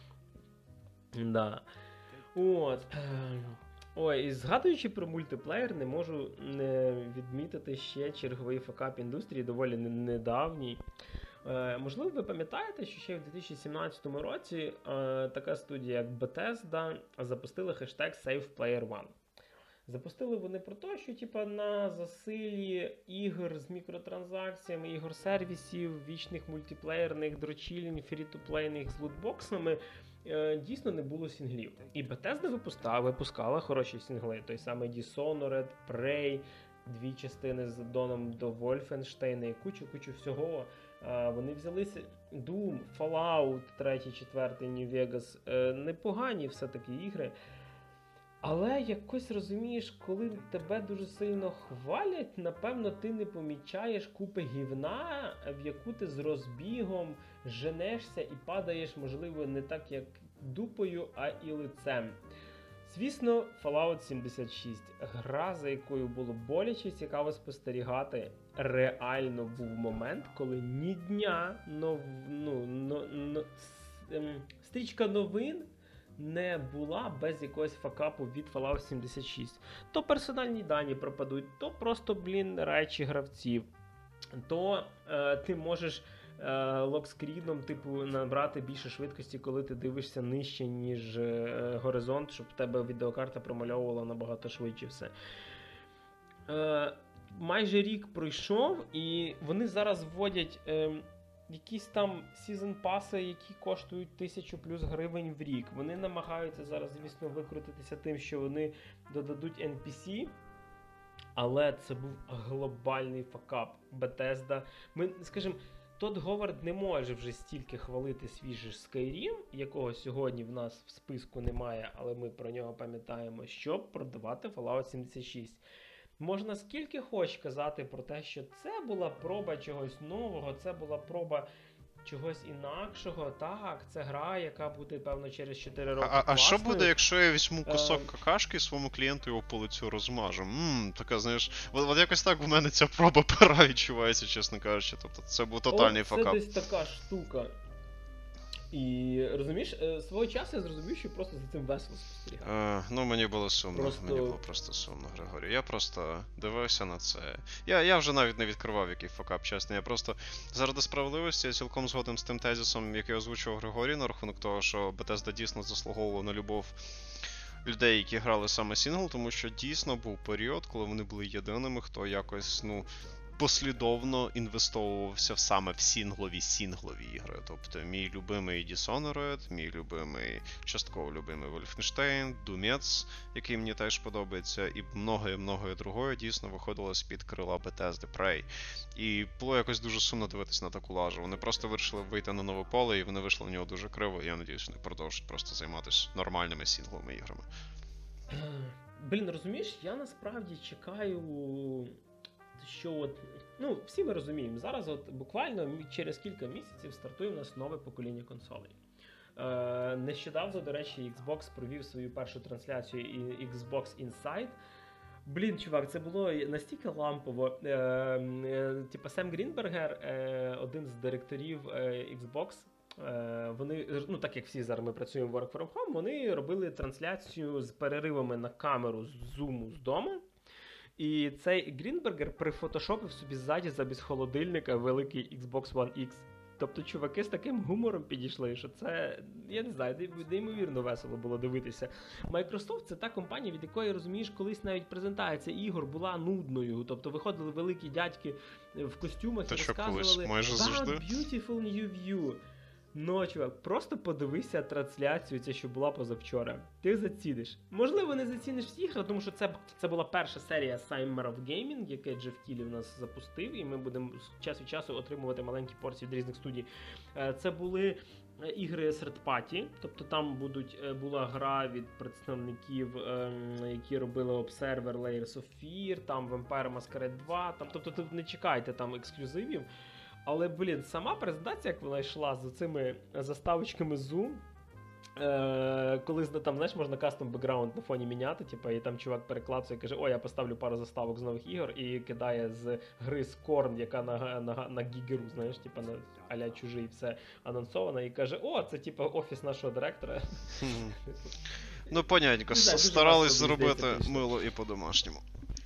Да. От. Ой, і згадуючи про мультиплеєр, не можу не відмітити ще черговий факап індустрії, доволі недавній. Е, можливо, ви пам'ятаєте, що ще в дві тисячі сімнадцятому році е, така студія, як Bethesda, запустила хештег SavePlayerOne. Запустили вони про те, що типа, на засилі ігор з мікротранзакціями, ігор-сервісів, вічних мультиплеєрних дрочілень, фрі-ту-плейних з лутбоксами е, дійсно не було сінглів. І Bethesda випускала, випускала хороші сінгли. Той самий Dishonored, Prey, дві частини з аддоном до Wolfenstein і кучу-кучу всього. Uh, вони взялися Doom, Fallout три, четвертий, New Vegas. Uh, непогані все-таки ігри. Але якось розумієш, коли тебе дуже сильно хвалять, напевно, ти не помічаєш купи гівна, в яку ти з розбігом женешся і падаєш, можливо, не так, як дупою, а і лицем. Звісно, Fallout сімдесят шість. Гра, за якою було боляче цікаво спостерігати. Реально був момент, коли ні дня, нов, ну, но, но, стрічка новин не була без якогось факапу від Fallout сімдесят шість. То персональні дані пропадуть, то просто, блін, речі гравців. То е, ти можеш е, локскріном, типу, набрати більше швидкості, коли ти дивишся нижче, ніж е, горизонт, щоб в тебе відеокарта промальовувала набагато швидше все. Е, майже рік пройшов, і вони зараз вводять е, якісь там сезон-паси, які коштують тисячу плюс гривень в рік. Вони намагаються зараз, звісно, викрутитися тим, що вони додадуть ен пі сі, але це був глобальний факап. Bethesda. Ми, скажімо, Тодд Говард не може вже стільки хвалити свіжий Skyrim, якого сьогодні в нас в списку немає, але ми про нього пам'ятаємо, щоб продавати Fallout сімдесят шість. Можна скільки хоч казати про те, що це була проба чогось нового, це була проба чогось інакшого. Так, це гра, яка буде, певно, через чотири роки А, класною. а що буде, якщо я візьму кусок uh... какашки своєму клієнту його по лицю розмажу? Ммм, така, знаєш, от, от якось так в мене ця проба пера відчувається, чесно кажучи. Тобто це був тотальний О, факап. Це десь така штука. І, розумієш, свого часу я зрозумів, що просто за цим весело спостерігати. Е, ну, мені було сумно, просто... мені було просто сумно, Григорій. Я просто дивився на це. Я, я вже навіть не відкривав, який факап, чесно. Я просто, заради справедливості, я цілком згоден з тим тезисом, який озвучував Григорій, на рахунок того, що Bethesda дійсно заслуговувала на любов людей, які грали саме сінгл, тому що дійсно був період, коли вони були єдиними, хто якось, ну, послідовно інвестовувався в саме в сінглові сінглові ігри. Тобто мій любимий Dishonored, мій любимий, частково любимий Wolfenstein, Doomets, який мені теж подобається, і многое-многое другое дійсно виходило з-під крила Bethesda, Prey. І було якось дуже сумно дивитися на таку лажу. Вони просто вирішили вийти на нове поле, і вони вийшли на нього дуже криво, і я надіюсь, вони продовжать просто займатися нормальними сінгловими іграми. Блін, розумієш, я насправді чекаю... що от, ну, всі ми розуміємо, зараз от буквально через кілька місяців стартує у нас нове покоління консолей. Е, нещодавно, до речі, Xbox провів свою першу трансляцію Xbox Inside. Блін, чувак, це було настільки лампово. Е, е, типа Сем Грінбергер, е, один з директорів е, Xbox, е, вони, ну так як всі зараз ми працюємо в Work from Home, вони робили трансляцію з переривами на камеру з зуму з дому. І цей Грінбергер прифотошопив собі ззаді замість холодильника великий Xbox One X. Тобто чуваки з таким гумором підійшли, що це, я не знаю, неймовірно весело було дивитися. Microsoft — це та компанія, від якої, розумієш, колись навіть презентація ігор була нудною. Тобто виходили великі дядьки в костюмах Та і що розказували колись, майже завжди. About beautiful new view. Ну, чувак, просто подивися трансляцію, ця, що була позавчора. Ти заціниш. Можливо, не заціниш всі ігри, тому що це, це була перша серія Summer of Gaming, яке Джеф Кілі в нас запустив, і ми будемо час від часу отримувати маленькі порції від різних студій. Це були ігри серд-паті, тобто там будуть, була гра від представників, які робили Observer Layers of Fear, там Vampire Masquerade два, там, тобто тут не чекайте там ексклюзивів, але, блін, сама презентація, як вона йшла з цими заставочками Zoom, Е, коли там, знаєш, можна кастом бекграунд на фоні міняти, типу, і там чувак перекладує і каже, о, я поставлю пару заставок з нових ігор, і кидає з гри Scorn, яка на, на, на гігеру, знаєш, типу, на а-ля чужий, все анонсовано, і каже, о, це типу офіс нашого директора. Ну, понятненько, старались зробити мило і по-домашньому.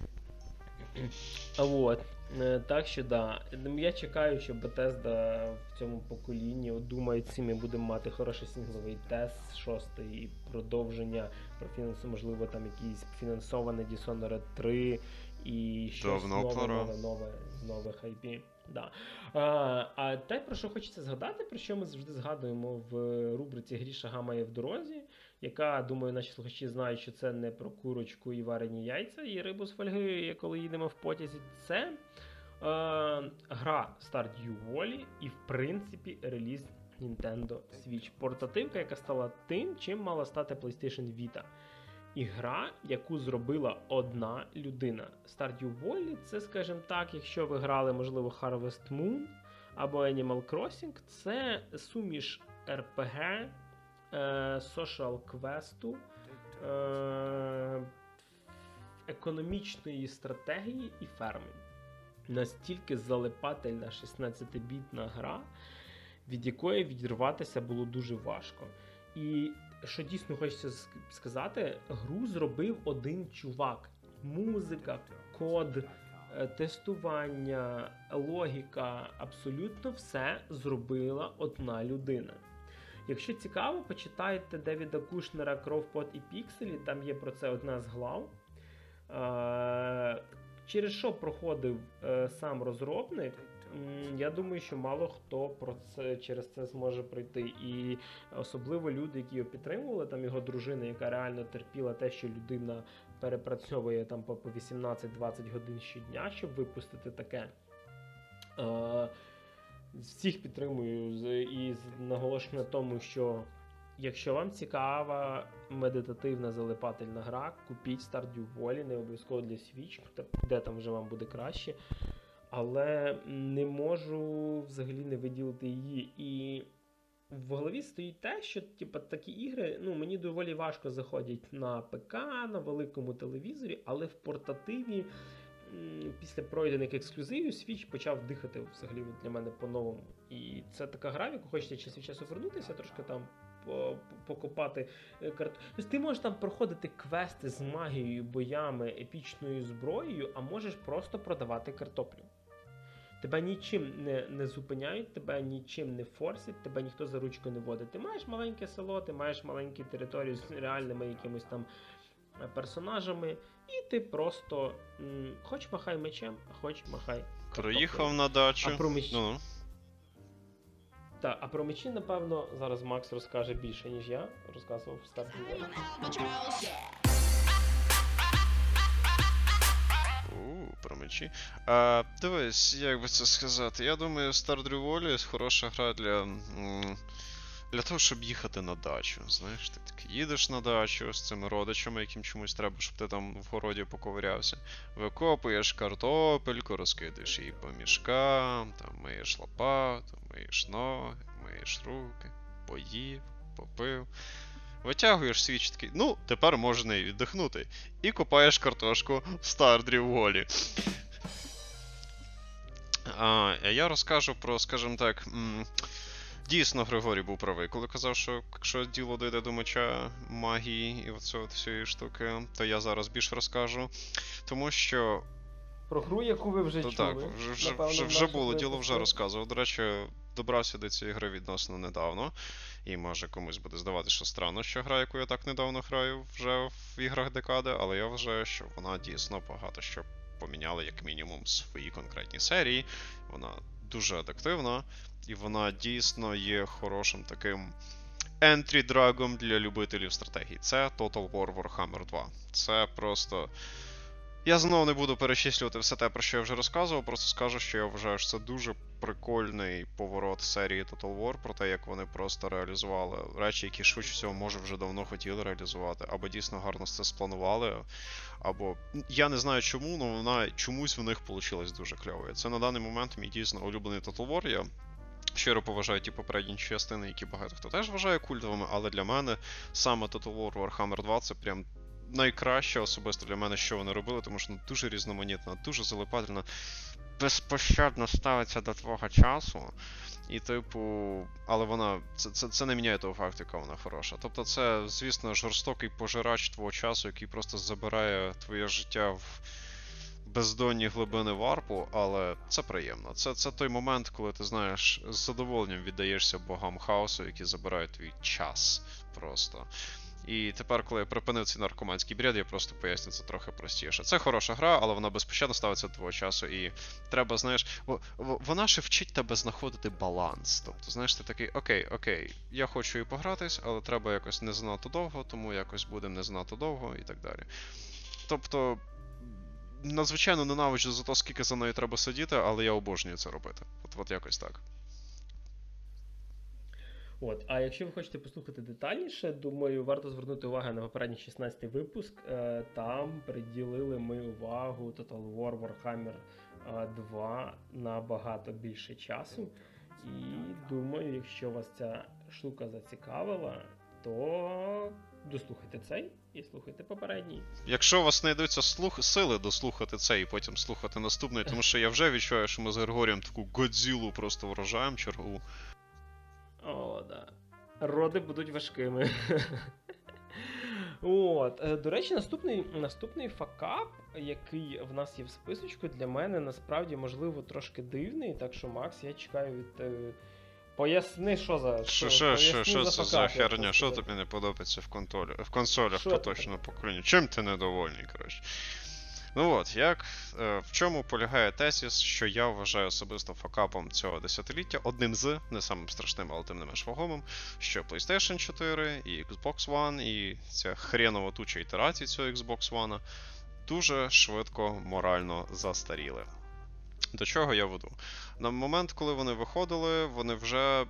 Вот. Так що, да. Я чекаю, що Bethesda в цьому поколінні, от думаю, ці ми будемо мати хороший сингловий тест, шостий, продовження, про фінансу, можливо, там якісь фінансоване Dishonored три і щось Давно нове, пора. нове, нове, з нових ай пі. Да. А, а те, про що хочеться згадати, про що ми завжди згадуємо в рубриці «Гріша гамає в дорозі», яка, думаю, наші слухачі знають, що це не про курочку і варені яйця, і рибу з фольги, коли їдемо в потязі. Це е, гра Stardew Valley і, в принципі, реліз Nintendo Switch. Портативка, яка стала тим, чим мала стати PlayStation Vita. І гра, яку зробила одна людина. Stardew Valley – це, скажімо так, якщо ви грали, можливо, Harvest Moon або Animal Crossing, це суміш ар пі джі, social квесту, е, економічної стратегії і ферми. Настільки залипательна шістнадцятибітна гра, від якої відірватися було дуже важко. І що дійсно хочеться сказати, гру зробив один чувак. Музика, код, тестування, логіка, абсолютно все зробила одна людина. Якщо цікаво, почитайте Девіда Кушнера «Кров, пот і пікселі», там є про це одна з глав. Через що проходив сам розробник, я думаю, що мало хто про це, через це зможе пройти. І особливо люди, які його підтримували, там його дружина, яка реально терпіла те, що людина перепрацьовує там по вісімнадцять-двадцять годин щодня, щоб випустити таке. Всіх підтримую і наголошую на тому, що якщо вам цікава медитативна залипательна гра, купіть Stardew Valley, не обов'язково для Switch, де там вже вам буде краще. Але не можу взагалі не виділити її. І в голові стоїть те, що типу, такі ігри, ну, мені доволі важко заходять на ПК, на великому телевізорі, але в портативі після пройдених ексклюзивів Switch почав дихати взагалі для мене по-новому. І це така гра, в яку хочеться час від часу вернутися, трошки там покопати карту. Тобто ти можеш там проходити квести з магією, боями, епічною зброєю, а можеш просто продавати картоплю. Тебе нічим не, не зупиняють, тебе нічим не форсять, тебе ніхто за ручку не водить. Ти маєш маленьке село, ти маєш маленьку територію з реальними якимось там персонажами, і ти просто м, хоч махай мечем, а хоч махай картоплею. Приїхав на дачу. А про мечі... Ну. Так, а про мечі, напевно, зараз Макс розкаже більше, ніж я розказував в старті. Про мечі. А, дивись, як би це сказати. Я думаю, Stardew Valley хороша гра для для того, щоб їхати на дачу. Знаєш, ти так їдеш на дачу з цими родичами, яким чомусь треба, щоб ти там в городі поковирявся. Викопуєш картопельку, розкидаєш її по мішкам, там миєш лопату, миєш ноги, миєш руки, поїв, попив. Витягуєш свіч такий, ну, тепер можна і віддихнути. І копаєш картошку в Stardew Valley. А, я розкажу про, скажімо так, м- дійсно Григорій був правий, коли казав, що якщо діло дійде до меча, магії і оцього всієї штуки, то я зараз більше розкажу. Тому що... Про гру, яку ви вже то, чули. Так, вже, вже, Напевно, вже, вже було, діло випуску. вже розказував. До речі, добрався до цієї гри відносно недавно. І може комусь буде здавати, що странно, що гра, яку я так недавно граю вже в іграх декади, але я вважаю, що вона дійсно багато що поміняла, як мінімум, в своїй конкретній серії. Вона дуже адаптивна, і вона дійсно є хорошим таким ентрі-драгом для любителів стратегій. Це Total War Warhammer два. Це просто Я знову не буду перечислювати все те, про що я вже розказував, просто скажу, що я вважаю, що це дуже прикольний поворот серії Total War, про те, як вони просто реалізували речі, які швидше всього, може, вже давно хотіли реалізувати, або дійсно гарно це спланували, або я не знаю чому, але вона чомусь в них вийшло дуже кльово. Це на даний момент мій дійсно улюблений Total War. Я щиро поважаю ті попередні частини, які багато хто теж вважає культовими, але для мене саме Total War Warhammer два це прям найкраще особисто для мене, що вони робили, тому що вона дуже різноманітна, дуже залипательна, безпощадно ставиться до твого часу. І, типу, але вона. Це, це, це не міняє того факту, яка вона хороша. Тобто це, звісно, жорстокий пожирач твого часу, який просто забирає твоє життя в бездонні глибини варпу, але це приємно. Це, це той момент, коли ти знаєш, з задоволенням віддаєшся богам хаосу, які забирають твій час просто. І тепер, коли я припинив цей наркоманський бред, я просто поясню це трохи простіше. Це хороша гра, але вона безпощадно ставиться до твого часу, і треба, знаєш, вона ще вчить тебе знаходити баланс. Тобто, знаєш, ти такий, окей, окей, я хочу і погратись, але треба якось не занадто довго, тому якось будемо не занадто довго і так далі. Тобто, надзвичайно ненавиджу за те, скільки за нею треба сидіти, але я обожнюю це робити. От, от якось так. От, а якщо ви хочете послухати детальніше, думаю, варто звернути увагу на попередній шістнадцятий випуск. Там приділили ми увагу Total War Warhammer два набагато більше часу. І думаю, якщо вас ця штука зацікавила, то дослухайте цей і слухайте попередній. Якщо у вас знайдуться слух, сили дослухати цей і потім слухати наступний, тому що я вже відчуваю, що ми з Григорієм таку Годзілу просто вражаємо чергову. О, да. Роди будуть важкими. От. До речі, наступний, наступний факап, який в нас є в списочку, для мене насправді, можливо, трошки дивний. Так що, Макс, я чекаю від... Е... Поясни, що за... Що, що, що, що це за херня? Що тобі не подобається в контролі? В консолях, то точно покоління. Чим ти недовольний, коротше? Ну от, як, е, в чому полягає тезіс, що я вважаю особисто факапом цього десятиліття, одним з, не самим страшним, але тим не менш вагомим, що PlayStation чотири і Xbox One, і ця хренова туча ітерацій цього Xbox One дуже швидко морально застаріли. До чого я веду? На момент, коли вони виходили, вони вже,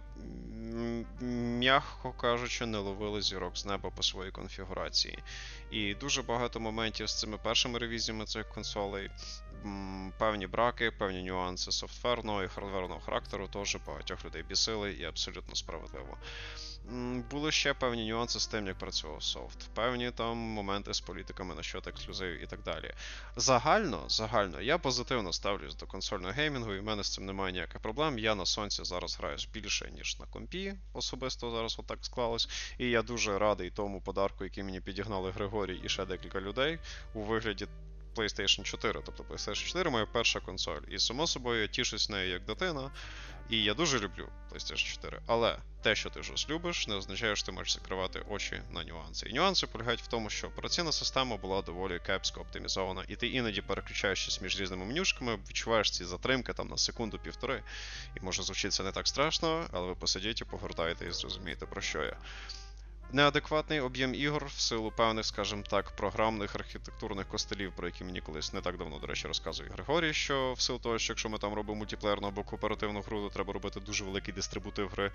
м'яко кажучи, не ловили зірок з неба по своїй конфігурації. І дуже багато моментів з цими першими ревізіями цих консолей, певні браки, певні нюанси софтверного і хардверного характеру теж багатьох людей бісили і абсолютно справедливо. Були ще певні нюанси з тим, як працював софт. Певні там моменти з політиками насчет ексклюзивів і так далі. Загально, загально, я позитивно ставлюсь до консольного геймінгу, і в мене з цим немає ніяких проблем. Я на сонці зараз граю більше, ніж на компі, особисто зараз отак склалось. І я дуже радий тому подарку, який мені підігнали Григорій і ще декілька людей у вигляді PlayStation чотири. Тобто PlayStation чотири моя перша консоль. І, само собою, я тішусь нею як дитина. І я дуже люблю PlayStation чотири. Але те, що ти щось любиш, не означає, що ти можеш закривати очі на нюанси. І нюанси полягають в тому, що операційна система була доволі кепсько оптимізована, і ти іноді переключаєшся між різними менюшками, відчуваєш ці затримки там на секунду-півтори. І може звучить це не так страшно, але ви посидіть і погортаєте і зрозумієте, про що я. Неадекватний об'єм ігор в силу певних, скажімо так, програмних архітектурних костелів, про які мені колись не так давно, до речі, розказує Григорій, що в силу того, що якщо ми там робимо мультиплеєрну або кооперативну гру, то треба робити дуже великий дистрибутив гри,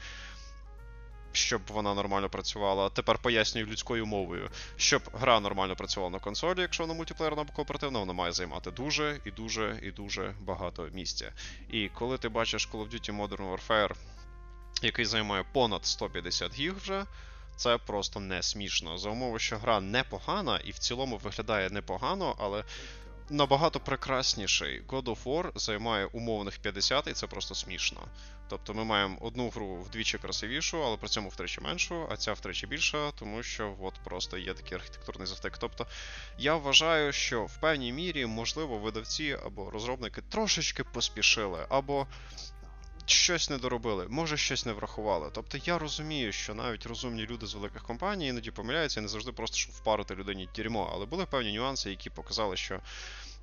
щоб вона нормально працювала. Тепер пояснюю людською мовою. Щоб гра нормально працювала на консолі, якщо вона мультиплеєрна або кооперативна, вона має займати дуже і дуже і дуже багато місця. І коли ти бачиш Call of Duty Modern Warfare, який займає понад сто п'ятдесят гіг вже, це просто не смішно. За умови, що гра непогана і в цілому виглядає непогано, але набагато прекрасніший God of War займає умовних п'ятдесят, і це просто смішно. Тобто ми маємо одну гру вдвічі красивішу, але при цьому втричі меншу, а ця втричі більша, тому що от просто є такий архітектурний завтик. Тобто я вважаю, що в певній мірі, можливо, видавці або розробники трошечки поспішили, або щось не доробили, може щось не врахували. Тобто я розумію, що навіть розумні люди з великих компаній іноді помиляються і не завжди просто, щоб впарити людині дерьмо, але були певні нюанси, які показали, що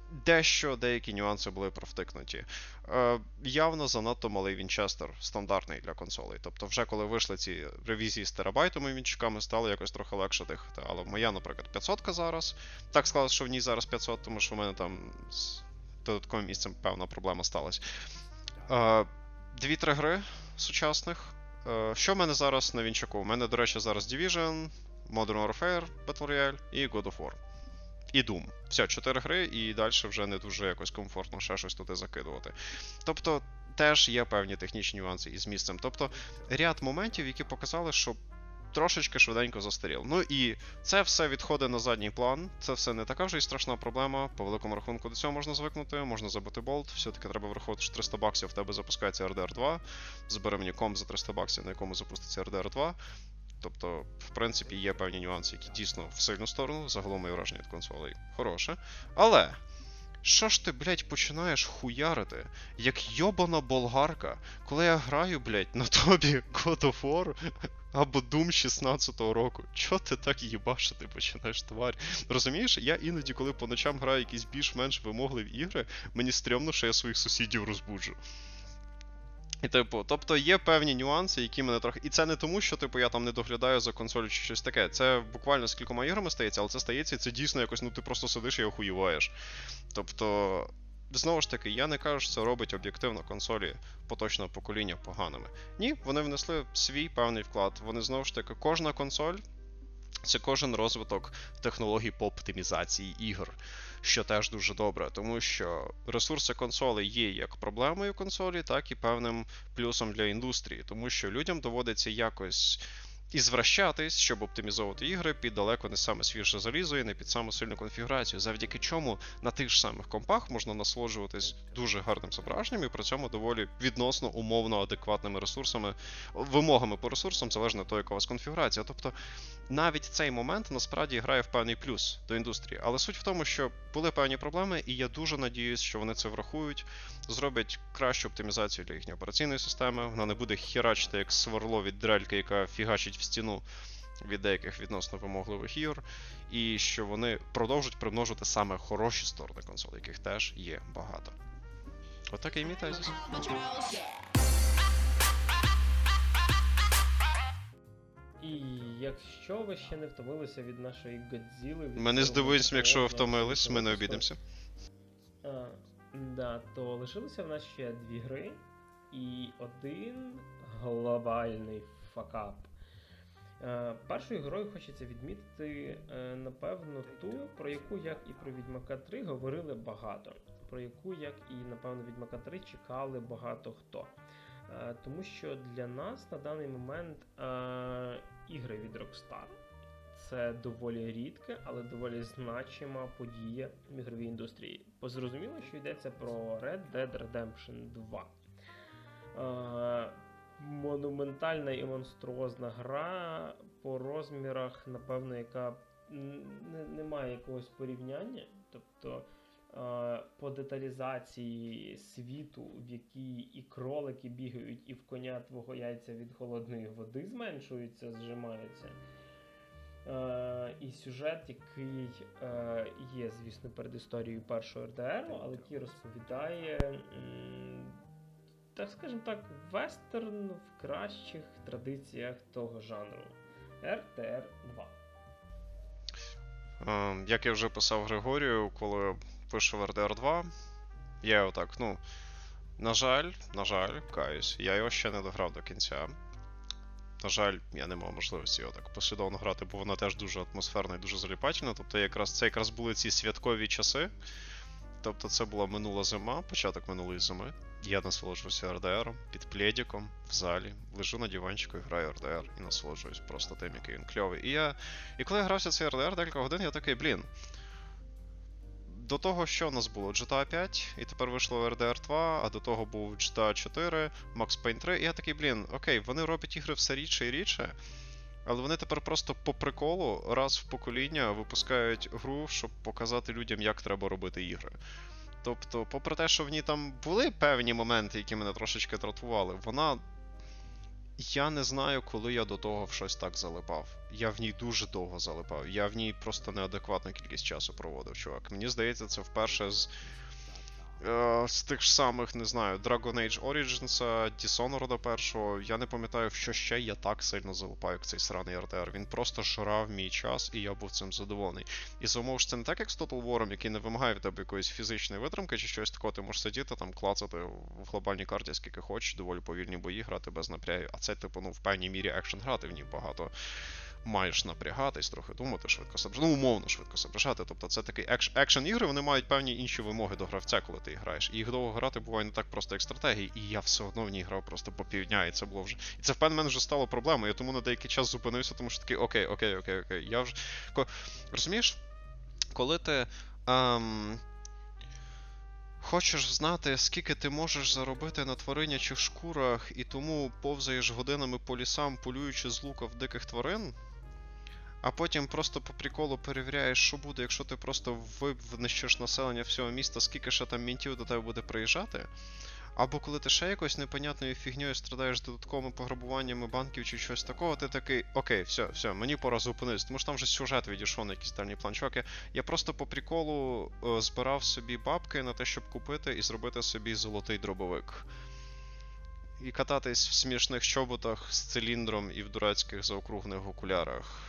дещо, деякі нюанси були провтикнуті. Е, явно занадто малий Вінчестер, стандартний для консолей. Тобто вже коли вийшли ці ревізії з терабайтами вінчиками, стало якось трохи легше дихати. Але моя, наприклад, п'ятсот зараз. Так склалося, що в ній зараз п'ятсот, тому що в мене там з додатковим місцем певна проблема сталася. Е, Дві-три гри сучасних. Е, що в мене зараз на вінчаку? У мене, до речі, зараз Division, Modern Warfare, Battle Royale і God of War. І Doom. Все, чотири гри, і далі вже не дуже якось комфортно ще щось туди закидувати. Тобто, теж є певні технічні нюанси із місцем. Тобто, ряд моментів, які показали, що трошечки швиденько застаріло. Ну і це все відходить на задній план, це все не така вже і страшна проблема. По великому рахунку до цього можна звикнути, можна забити болт, все-таки треба враховувати, що триста баксів в тебе запускається ар ді ар два. Збери мені комп за триста баксів, на якому запуститься ар ді ар два. Тобто, в принципі, є певні нюанси, які дійсно в сильну сторону, загалом моє враження від консолей хороше. Але, що ж ти, блядь, починаєш хуярити, як йобана болгарка, коли я граю, блядь, на тобі God of War або Doom шістнадцятого року? Чо ти так їбашити починаєш, тварь? Розумієш, я іноді, коли по ночам граю якісь більш-менш вимогливі ігри, мені стрьомно, що я своїх сусідів розбуджу. І, типу, тобто є певні нюанси, які мене трохи... І це не тому, що, типу, я там не доглядаю за консолью чи щось таке. Це буквально з кількома іграми стається, але це стається, і це дійсно якось, ну, ти просто сидиш і охуєваєш. Тобто, знову ж таки, я не кажу, що це робить об'єктивно консолі поточного покоління поганими. Ні, вони внесли свій певний вклад. Вони, знову ж таки, кожна консоль — це кожен розвиток технологій по оптимізації ігор, що теж дуже добре, тому що ресурси консолей є як проблемою консолі, так і певним плюсом для індустрії, тому що людям доводиться якось і звращатись, щоб оптимізовувати ігри під далеко не саме свіже залізо і не під саму сильну конфігурацію, завдяки чому на тих ж самих компах можна насолоджуватись дуже гарним зображенням і при цьому доволі відносно умовно адекватними ресурсами, вимогами по ресурсам, залежно від того, яка у вас конфігурація. Тобто навіть цей момент насправді грає в певний плюс до індустрії. Але суть в тому, що були певні проблеми, і я дуже надіюсь, що вони це врахують, зроблять кращу оптимізацію для їхньої операційної системи, вона не буде херачити як сверло від дрельки, яка фігачить в стіну від деяких відносно вимогливих ігор, і що вони продовжують примножити саме хороші сторони консолі, яких теж є багато. Отакий мій тезіс. І якщо ви ще не втомилися від нашої Годзіли... Ми не здивуємося, якщо ви втомились, ми не обідемося. А, да, то лишилося в нас ще дві гри і один глобальний факап. Е, першою грою хочеться відмітити, е, напевно, ту, про яку, як і про Відьмака три, говорили багато. Про яку, як і, напевно, Відьмака три чекали багато хто. Е, тому що для нас на даний момент е, ігри від Rockstar — це доволі рідка, але доволі значима подія в ігровій індустрії. Позрозуміло, що йдеться про Red Dead Redemption два. Е, монументальна і монструозна гра по розмірах, напевно, яка не, не має якогось порівняння. Тобто е, по деталізації світу, в якій і кролики бігають, і в коня твого яйця від холодної води зменшуються, зжимаються. Uh, і сюжет, який uh, є, звісно, перед історією першого ар ді ар, але який розповідає, м, так скажемо так, вестерн в кращих традиціях того жанру. ар ді ар два. Uh, як я вже писав Григорію, коли вийшов ар ді ар два, я його так, ну, на жаль, на жаль, каюсь, я його ще не дограв до кінця. На жаль, я не мав можливості його так послідовно грати, бо вона теж дуже атмосферна і дуже заліпательна. Тобто якраз, це якраз були ці святкові часи. Тобто це була минула зима, початок минулої зими. Я насолоджувався ар ді аром, під пледиком, в залі. Лежу на диванчику і граю ар ді ар і насолоджуюсь просто тим, який він кльовий. І я... І коли я грався цей ар ді ар декілька годин, я такий, блін. До того, що у нас було? джі ті ей п'ять, і тепер вийшло ар ді ар два, а до того був джі ті ей чотири, Max Payne три, і я такий, блін, окей, вони роблять ігри все рідше і рідше, але вони тепер просто по приколу раз в покоління випускають гру, щоб показати людям, як треба робити ігри. Тобто, попри те, що в ній там були певні моменти, які мене трошечки дратували, вона я не знаю, коли я до того в щось так залипав. Я в ній дуже довго залипав. Я в ній просто неадекватну кількість часу проводив, чувак. Мені здається, це вперше з. З тих ж самих, не знаю, Dragon Age Origins, Dishonored першого, я не пам'ятаю, в що ще я так сильно залипаю, як цей сраний ар ді ар. Він просто жрав мій час, і я був цим задоволений. І за умов, що це не так, як з Total War, який не вимагає від тебе якоїсь фізичної витримки чи щось такого, ти можеш сидіти, там, клацати в глобальній карті скільки хочеш, доволі повільні бої грати без напрягів, а це, типу, ну, в певній мірі екшен грати в ній багато. Маєш напрягатись, трохи думати, швидко соображати, ну, умовно швидко соображати. Тобто це такий екш... екшен-ігри, вони мають певні інші вимоги до гравця, коли ти граєш. І їх довго грати буває не так просто, як стратегії, і я все одно в ній грав просто по півдня, і це було вже. І це в певний момент вже стало проблемою, я тому на деякий час зупинився, тому що такий, окей, окей, окей, окей. Я вже. Розумієш, коли ти. Ем... Хочеш знати, скільки ти можеш заробити на тваринячих шкурах, і тому повзаєш годинами по лісам, полюючи з лука в диких тварин, а потім просто по приколу перевіряєш, що буде, якщо ти просто винищиш населення всього міста, скільки ще там мінтів до тебе буде приїжджати. Або коли ти ще якось непонятною фігньою страдаєш додатковими пограбуваннями банків чи щось такого, ти такий, окей, все, все, мені пора зупинитися, тому що там вже сюжет відійшов на якийсь дальній план. Чуваки, я просто по приколу е, збирав собі бабки на те, щоб купити і зробити собі золотий дробовик. І кататись в смішних чоботах з циліндром і в дурацьких заокруглених окулярах.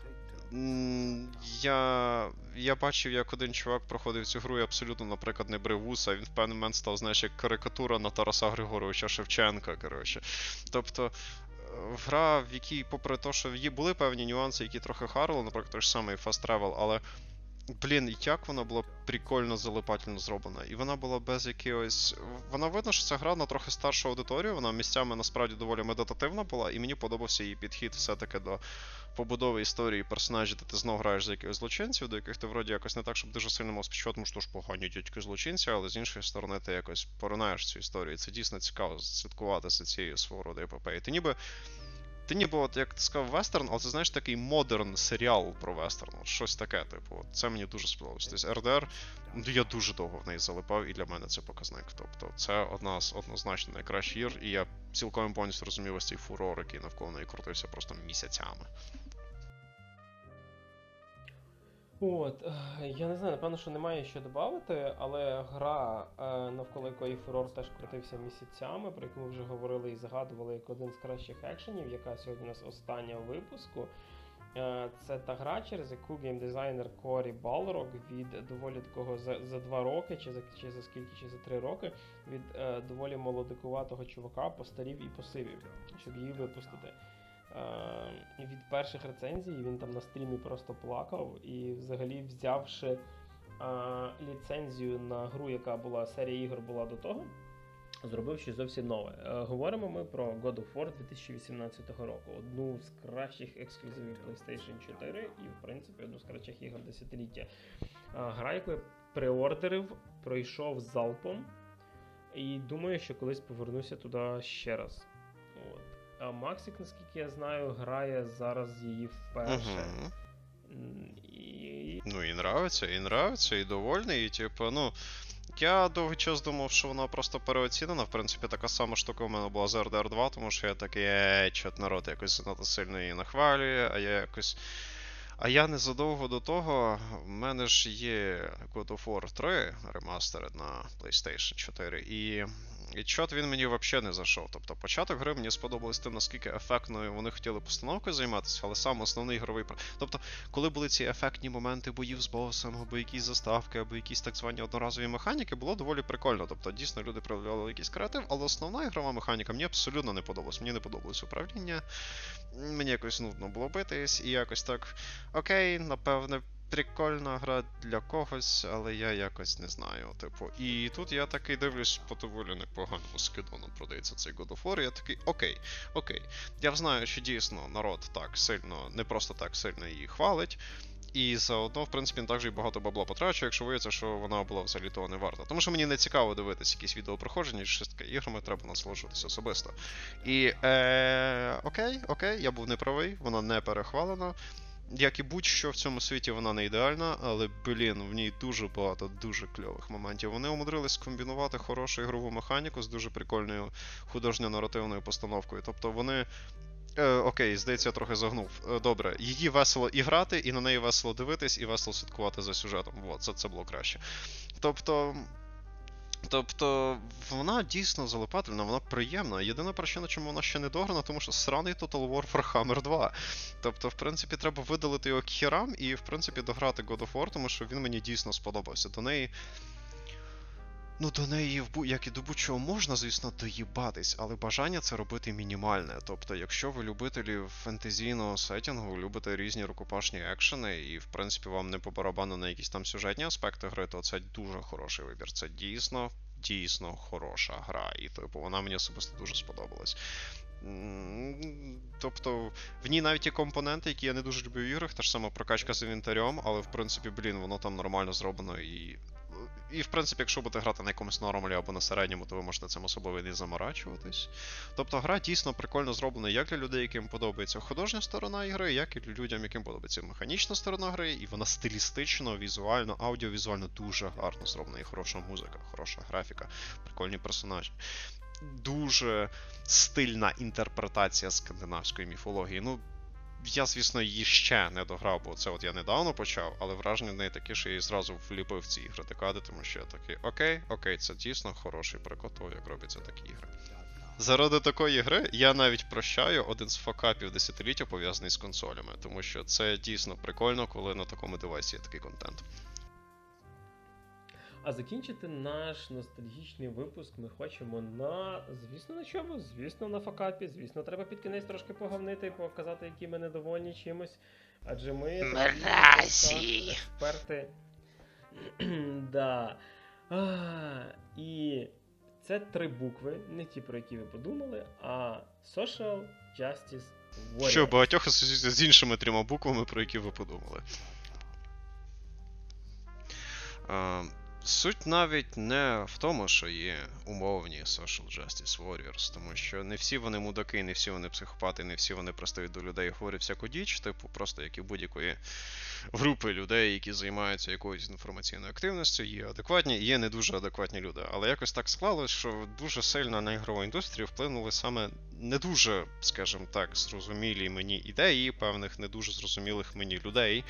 Я я бачив, як один чувак проходив цю гру і абсолютно, наприклад, не брив вуса, він в певний момент став, знаєш, як карикатура на Тараса Григоровича Шевченка, коротше. Тобто, гра, в якій, попри те, що є були певні нюанси, які трохи харили, наприклад, той ж самий Fast Travel, але, блін, як вона була прикольно залипательно зроблена. І вона була без якогось. Вона видно, що ця гра на трохи старшу аудиторію, вона місцями насправді доволі медитативна була, і мені подобався її підхід все-таки до побудови історії персонажів, де ти знову граєш за якихось злочинців, до яких ти вроді якось не так, щоб дуже сильно мав співчувати, тому що ж погані дядьки злочинці, але з іншої сторони ти якось поринаєш цю історію. Це дійсно цікаво слідкувати за цією свого роду епопеєю. Ти ніби. Ти ніби, от, як ти сказав, вестерн, але це, знаєш, такий модерн серіал про вестерн. От щось таке, типу. От, це мені дуже сподобалось. Тобто ар ді ар, я дуже довго в неї залипав, і для мене це показник. Тобто це одна з однозначно найкращих ігор, і я цілком повністю розумів ось цей фурор, який навколо неї крутився просто місяцями. От, я не знаю, напевно, що немає що додати, але гра, навколо якої фурор теж крутився місяцями, про яку ми вже говорили і згадували як один з кращих екшенів, яка сьогодні у нас остання у випуску. Це та гра, через яку геймдизайнер Корі Балрог від доволі такого за, за два роки, чи за, чи за скільки, чи за три роки, від е, доволі молодикуватого чувака постарів і посивів, щоб її випустити. Uh, від перших рецензій він там на стрімі просто плакав, і взагалі взявши uh, ліцензію на гру, яка була, серія ігор була до того, зробив щось зовсім нове. Uh, говоримо ми про God of War дві тисячі вісімнадцятого року, одну з кращих ексклюзивів PlayStation чотири і, в принципі, одну з кращих ігор десятиліття. Uh, гра, яку я преордерив, пройшов залпом, і думаю, що колись повернуся туди ще раз. От. А Максик, наскільки я знаю, грає зараз її вперше. Угу. І... Ну, і нравиться, і нравиться, і довольний, і типу, ну... Я довгий час думав, що вона просто переоцінена. В принципі, така сама штука у мене була з ар ді ар два, тому що я такий, ей, чот народ якось занадто сильно її нахвалює, а я якось... А я незадовго до того, в мене ж є God of War три ремастер на PlayStation чотири, і... І чот він мені взагалі не зайшов. Тобто початок гри мені сподобалось тим, наскільки ефектною вони хотіли постановкою займатися, але сам основний ігровий... Тобто, коли були ці ефектні моменти боїв з босом, або якісь заставки, або якісь так звані одноразові механіки, було доволі прикольно. Тобто, дійсно, люди проявляли якийсь креатив, але основна ігрова механіка мені абсолютно не подобалась. Мені не подобалось управління, мені якось нудно було битись, і якось так, окей, напевне, прикольна гра для когось, але я якось не знаю, типу. І тут я такий дивлюсь, по доволі непоганому скидону продається цей God of War, і я такий, окей, окей. Я знаю, що дійсно народ так сильно, не просто так сильно її хвалить, і заодно, в принципі, не так же і багато бабла потрачу, якщо виявиться, що вона була взагалі того не варта. Тому що мені не цікаво дивитися якісь відеопроходження, чи щось таке, іграми треба насолоджуватися особисто. І, е, окей, окей, я був неправий, вона не перехвалена. як і будь-що в цьому світі, вона не ідеальна, але, блін, в ній дуже багато дуже кльових моментів. Вони умудрились скомбінувати хорошу ігрову механіку з дуже прикольною художньо-наративною постановкою. Тобто вони... Е, окей, здається, я трохи загнув. Е, добре, її весело і грати, і на неї весело дивитись, і весело слідкувати за сюжетом. Вот, це, це було краще. Тобто... Тобто, вона дійсно залипательна, вона приємна. Єдина причина, чому вона ще не дограна, тому що сраний Total War Warhammer два. Тобто, в принципі, треба видалити його к хірам і, в принципі, дограти God of War, тому що він мені дійсно сподобався. До неї... Ну, до неї, як і до будь-чого, можна, звісно, доїбатись, але бажання це робити мінімальне. Тобто, якщо ви любителі фентезійного сеттінгу, любите різні рукопашні екшени, і, в принципі, вам не по барабану на якісь там сюжетні аспекти гри, то це дуже хороший вибір. Це дійсно, дійсно хороша гра. І, типу, вона мені особисто дуже сподобалась. Тобто, в ній навіть є компоненти, які я не дуже люблю в іграх, та ж сама прокачка з інвентарем, але, в принципі, блін, воно там нормально зроблено і... І, в принципі, якщо будете грати на якомусь нормалі або на середньому, то ви можете цим особливо не заморачуватись. Тобто гра дійсно прикольно зроблена як для людей, яким подобається художня сторона ігри, як і для людям, яким подобається механічна сторона гри, і вона стилістично, візуально, аудіовізуально дуже гарно зроблена. І хороша музика, хороша графіка, прикольні персонажі. Дуже стильна інтерпретація скандинавської міфології. Ну, я, звісно, її ще не дограв, бо це от я недавно почав, але враження в неї таке, що я її зразу вліпив в ці ігри декади, тому що я такий, окей, окей, це дійсно хороший приклад того, як робляться такі ігри. Заради такої гри я навіть прощаю один з факапів десятиліття, пов'язаний з консолями, тому що це дійсно прикольно, коли на такому девайсі є такий контент. А закінчити наш ностальгічний випуск ми хочемо на, звісно, на чому? Звісно, на факапі. Звісно, треба під кінець трошки поговнити і показати, які ми недовольні чимось. Адже ми такі експерти. Да. А, і це три букви, не ті, про які ви подумали, а Social Justice Warriors. Що багатьох асоціюється з іншими трьома буквами, про які ви подумали. А... Суть навіть не в тому, що є умовні Social Justice Warriors, тому що не всі вони мудаки, не всі вони психопати, не всі вони пристають до людей і говорять всяку діч, типу просто як і будь-якої групи людей, які займаються якоюсь інформаційною активністю, є адекватні і є не дуже адекватні люди. Але якось так склалось, що дуже сильно на ігрову індустрію вплинули саме не дуже, скажімо так, зрозумілі мені ідеї певних не дуже зрозумілих мені людей,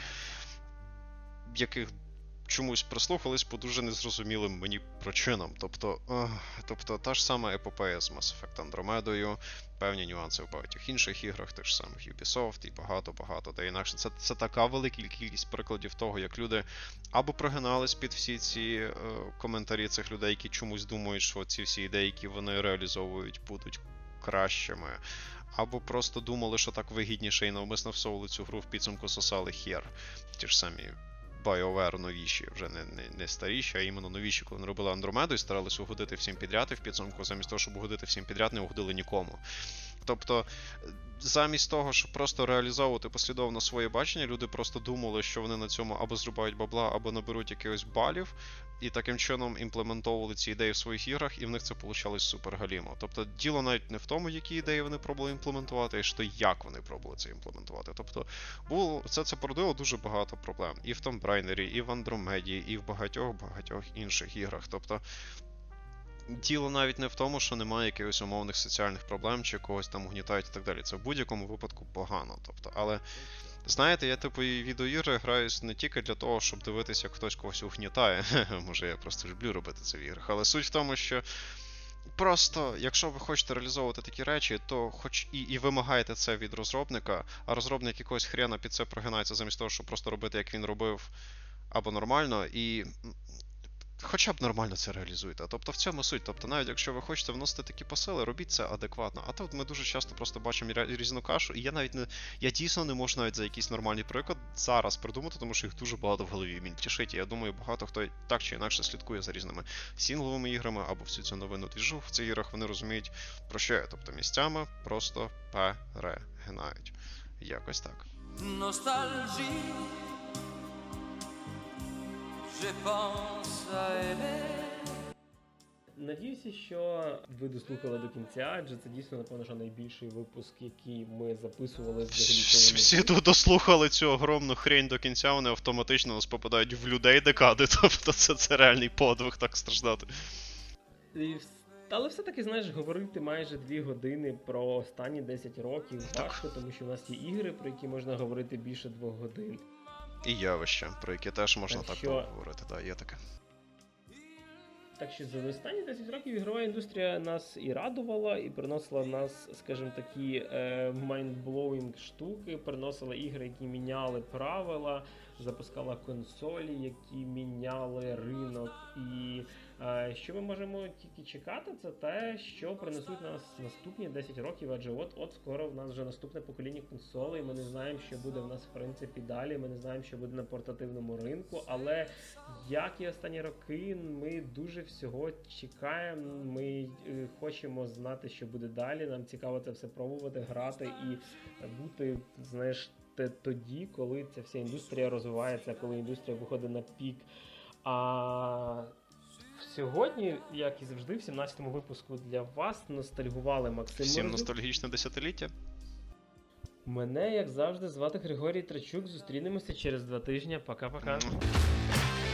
яких чомусь прислухались по дуже незрозумілим мені причинам. Тобто, ох, тобто та ж сама епопея з Mass Effect Andromeda, певні нюанси в багатьох інших іграх, тих самих Ubisoft і багато-багато де інакше. Це, це така велика кількість прикладів того, як люди або прогинались під всі ці е, коментарі цих людей, які чомусь думають, що ці всі ідеї, які вони реалізовують, будуть кращими, або просто думали, що так вигідніше і навмисно всовували цю гру в підсумку сосали хер. Ті ж самі BioWare новіші, вже не, не, не старіші, а іменно новіші, коли вони робили Андромеду і старались угодити всім підряд, і в підсумку замість того, щоб угодити всім підряд, не угодили нікому. Тобто, замість того, щоб просто реалізовувати послідовно своє бачення, люди просто думали, що вони на цьому або зрубають бабла, або наберуть якихось балів, і таким чином імплементовували ці ідеї в своїх іграх, і в них це вийшло супер галімо. Тобто, діло навіть не в тому, які ідеї вони пробували імплементувати, а що як вони пробували це імплементувати. Тобто, було, це, це породило дуже багато проблем. І в Tomb Raider, і в Андромеді, і в багатьох-багатьох інших іграх.Тобто, діло навіть не в тому, що немає якихось умовних соціальних проблем, чи когось там угнітають і так далі. Це в будь-якому випадку погано. Тобто, але, знаєте, я типу і відеоігри граюсь не тільки для того, щоб дивитися, як хтось когось угнітає. Може, я просто люблю робити це в іграх. Але суть в тому, що просто, якщо ви хочете реалізовувати такі речі, то хоч і, і вимагаєте це від розробника, а розробник якогось хрена під це прогинається замість того, щоб просто робити, як він робив, або нормально, і хоча б нормально це реалізуєте. Тобто в цьому суть. Тобто навіть якщо ви хочете вносити такі посили, робіть це адекватно. А тут ми дуже часто просто бачимо різну кашу, і я навіть не, я дійсно не можу навіть за якийсь нормальний приклад зараз придумати, тому що їх дуже багато в голові мільтішить. І я думаю, багато хто так чи інакше слідкує за різними сінгловими іграми або всю цю новину двіжу в цих іграх, вони розуміють, про що я. Тобто місцями просто перегинають. Якось так. Nostalgie, je pense à elle. Надіюся, що ви дослухали до кінця, адже це дійсно, напевно, що найбільший випуск, який ми записували взагалі. Всі, всі тут дослухали цю огромну хрень до кінця, вони автоматично нас попадають в людей декади, тобто це, це реальний подвиг так страждати. І вс- Але все-таки, знаєш, говорити майже дві години про останні десять років важко, тому що в нас є ігри, про які можна говорити більше двох годин. І явища, про які теж можна Так так що- поговорити, так, є таке. Так що за останні десять років ігрова індустрія нас і радувала, і приносила нас, скажімо, такі е, mind-blowing штуки, приносила ігри, які міняли правила, запускала консолі, які міняли ринок. І е, що ми можемо тільки чекати, це те, що принесуть нас наступні десять років, адже от-от скоро в нас вже наступне покоління консолей, ми не знаємо, що буде в нас в принципі далі, ми не знаємо, що буде на портативному ринку, але як і останні роки, ми дуже всього чекаємо, ми е, хочемо знати, що буде далі, нам цікаво це все пробувати, грати і бути, знаєш, те- тоді, коли ця вся індустрія розвивається, коли індустрія виходить на пік. А сьогодні, як і завжди, в сімнадцятому випуску для вас ностальгували Максим Всім Морозюк. ностальгічне десятиліття. Мене, як завжди, звати Григорій Трачук. Зустрінемося через два тижні. Пока-пока. М.